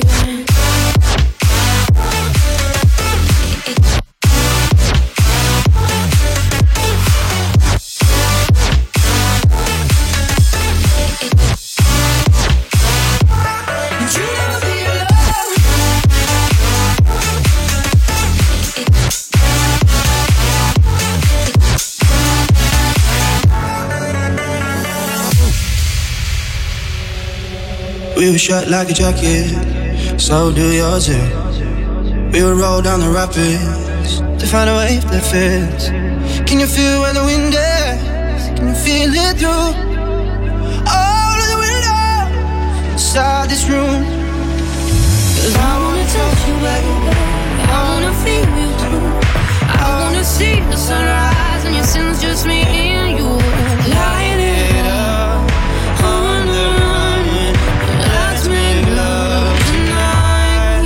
We were shot like a jacket, so do yours too. We would roll down the rapids to find a wave that fits. Can you feel where the wind is? Can you feel it through all of the windows inside this room? Cause I wanna touch you, baby, I wanna feel you too. I wanna see the sunrise and your sins, just me and you. Light it up on the run, let's make love tonight.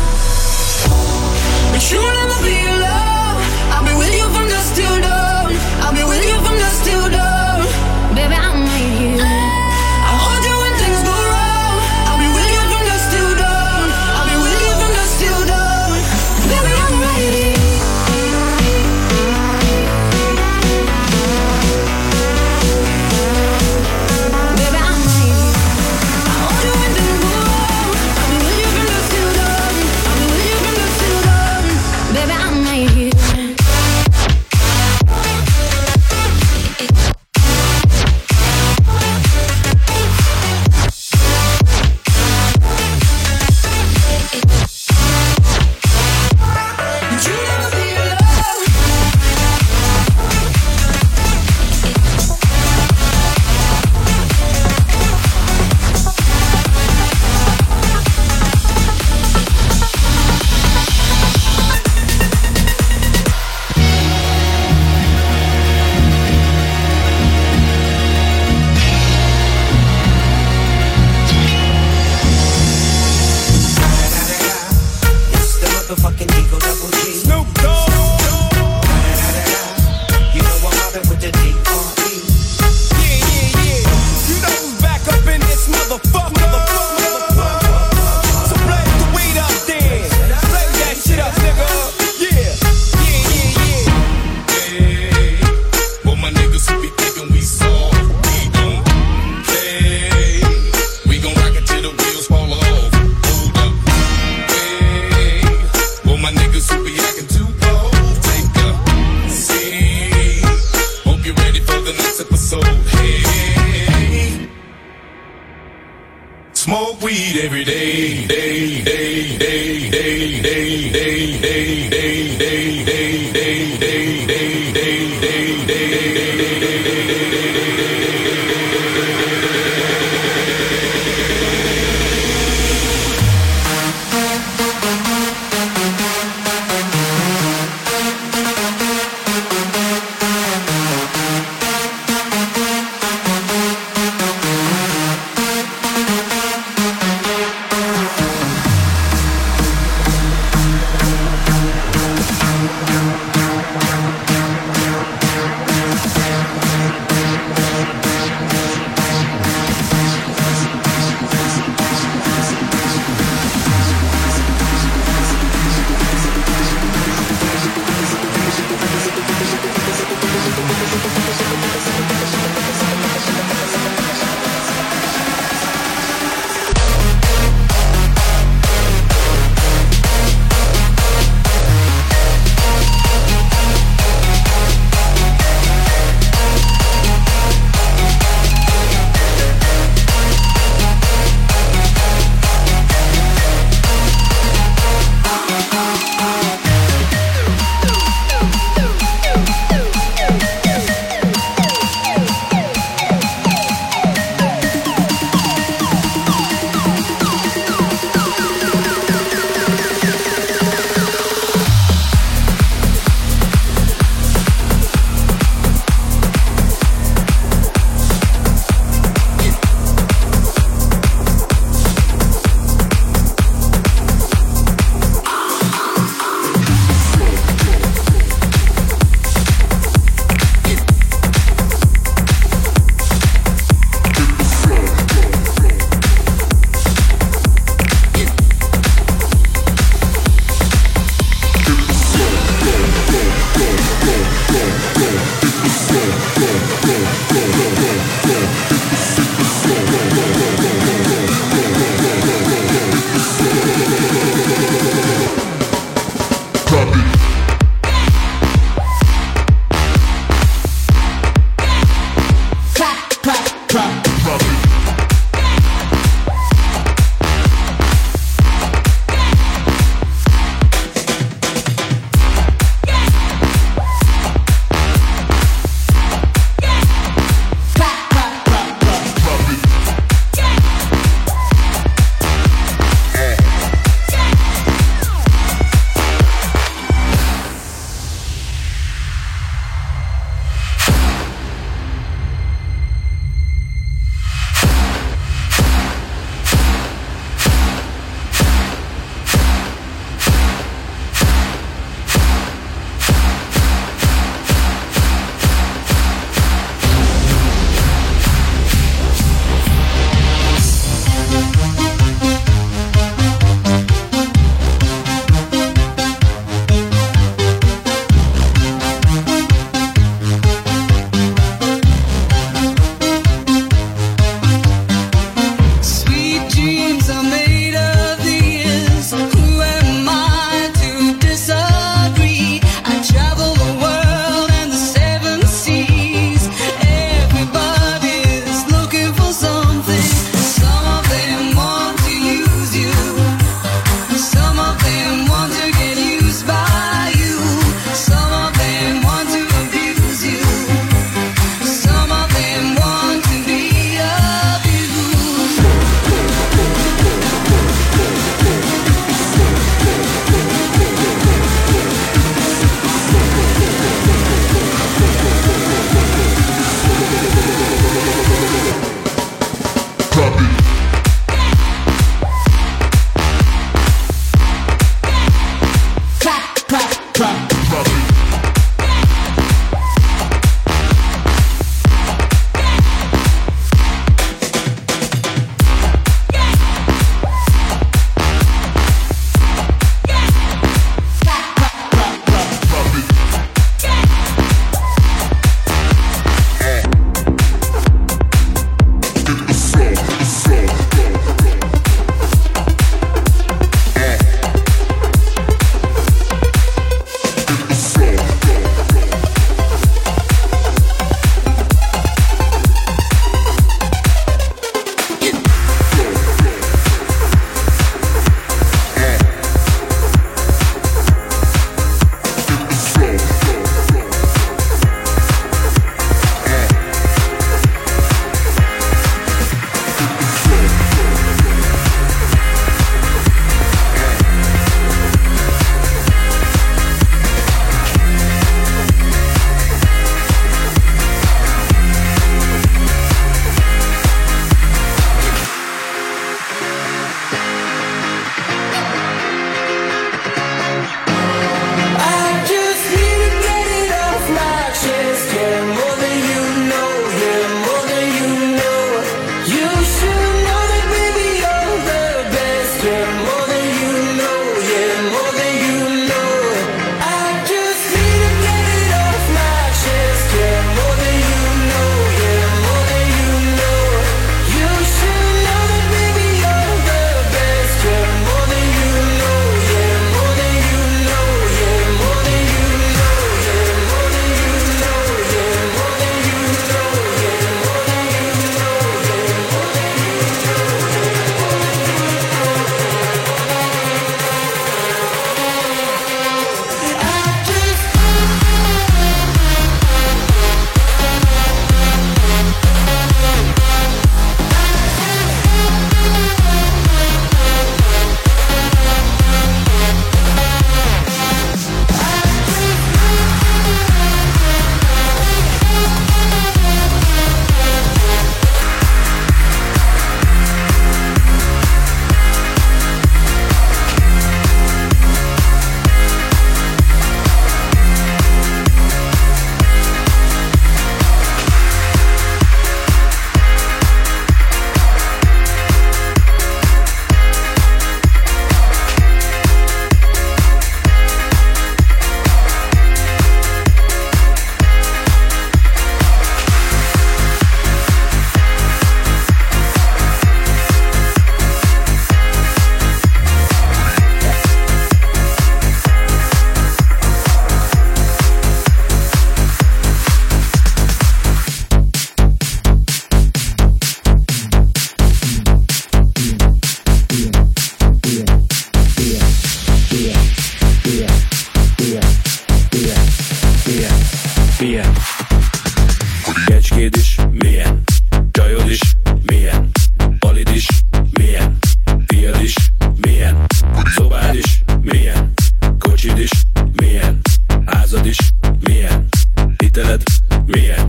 But you'll never be alone. I'll be with you from dusk till dawn. I'll be with you from dusk till dawn. Baby, I'm right here. I'll hold you when things go wrong. I'll be with you from dusk till dawn. I'll be with you from dusk till dawn. Baby, I'm right here. Smoke weed every day, day, day, day, day, day, day, day, day, day, day, day, day, day, day,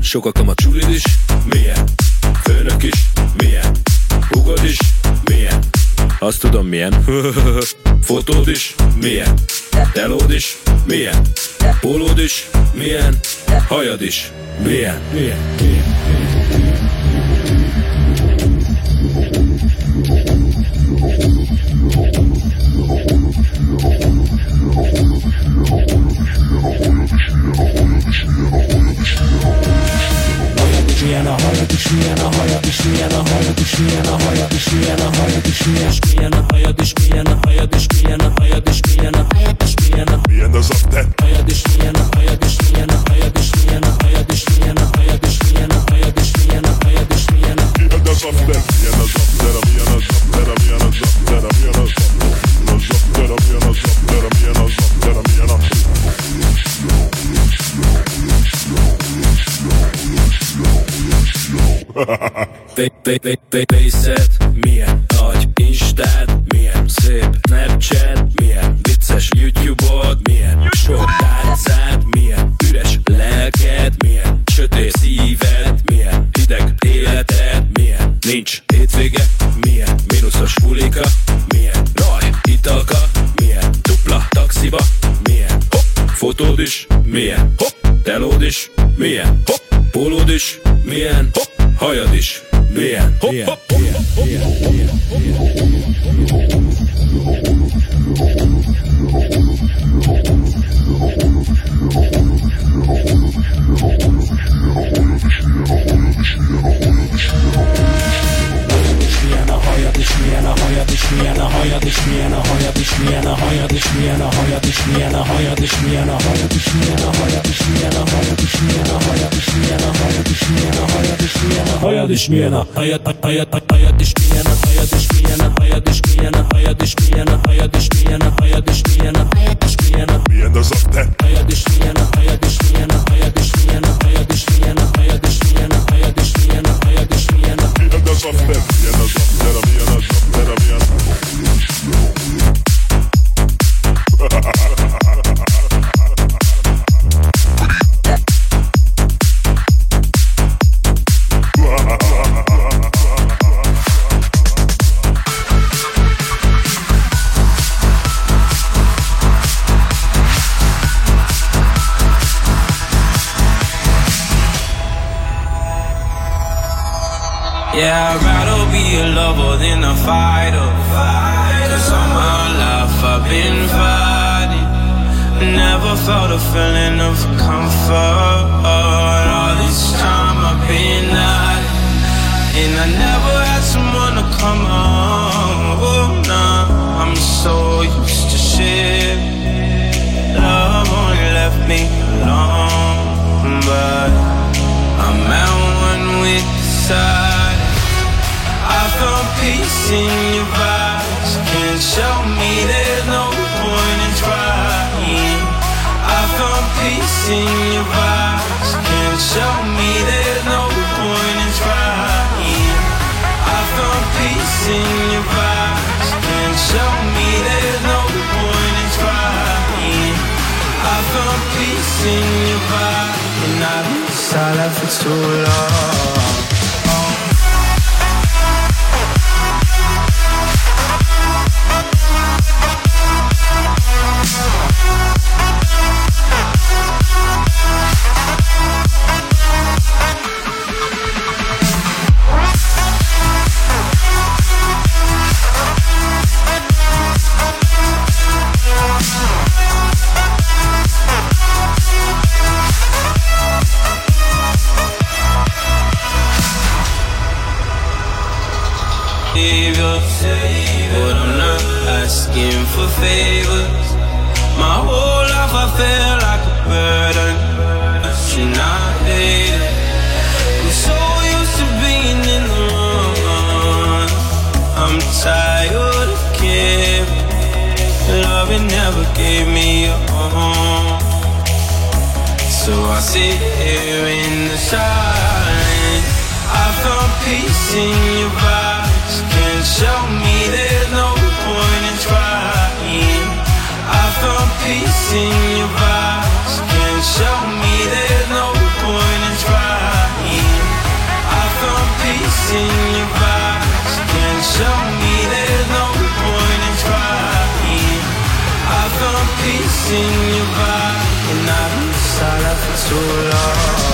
Sokakam a csulid is, milyen? Főnök is, milyen? Hugod is, milyen? Azt tudom milyen. Fotód is, milyen? Telód is, milyen? Pólód is, milyen? Hajad is, milyen? Milyen? Milyen? Milyen a hajad is, milyen a hajad is, milyen a hajad is, milyen a hajad is, milyen a hajad is, milyen a hajad is, milyen a hajad is, milyen a hajad is, milyen a hajad is, milyen a milyen az after hajad is, milyen a hajad is, milyen a hajad is, milyen a hajad is, milyen a hajad is, milyen a hajad is, milyen a hajad is, milyen a milyen az after milyen az after milyen az after milyen az after milyen az after milyen az after milyen az after milyen az Face-et, milyen nagy Instád, milyen szép Snapchat, milyen vicces YouTube-od, milyen sok tárcád, milyen üres lelked, milyen sötét szíved, milyen hideg életed, milyen nincs hétvége, milyen mínuszos bulika, milyen raj, italka, milyen dupla taxiba, milyen hopp, fotód is, milyen hopp, telód is, milyen hopp, pólód is, milyen hopp, hajad is, milyen hopp, hopp, hopp, hopp, milyen a hajad is, milyen a hajad is, milyen a hajad is, milyen a hajad is, milyen a hajad is, milyen a hajad is, milyen a hajad is, milyen a hajad is, milyen a hajad is, milyen a hajad is, milyen a hajad is, milyen a hajad is, milyen a hajad is, milyen a hajad is, milyen a hajad hajad hajad is, milyen a hajad is, milyen a hajad is, milyen a hajad is, milyen a hajad is, milyen a hajad is, milyen a hajad is, milyen a milyen az after hajad is, milyen a hajad is, milyen a hajad is, milyen a hajad is, milyen a hajad is, milyen a hajad is, milyen a hajad is, milyen a milyen az after milyen az after milyen az after milyen Yeah, I'd rather be a lover than a fighter. Cause all my life I've been fighting. Never felt a feeling of comfort. All this time I've been hiding. And I never had someone to come home. Oh, nah, I'm so used to shit. Love only left me alone. But I'm at one with the side. I found peace in your vibes. Can't show me there's no point in trying. I found peace in your vibes. Can't show me there's no point in trying. I found peace in your vibes. Can't show me there's no point in trying. I found peace in your vibes. And I've been silent for too long. But I'm not asking for favors. My whole life I feel like a burden. You're not dating. I'm so used to being in the wrong. I'm tired of caring. Love it never gave me a home. So I sit here in the silence. I found peace in your vibes. Can't show me there's no point in trying. I found peace in your vibes. Can't show me there's no point in trying. too long.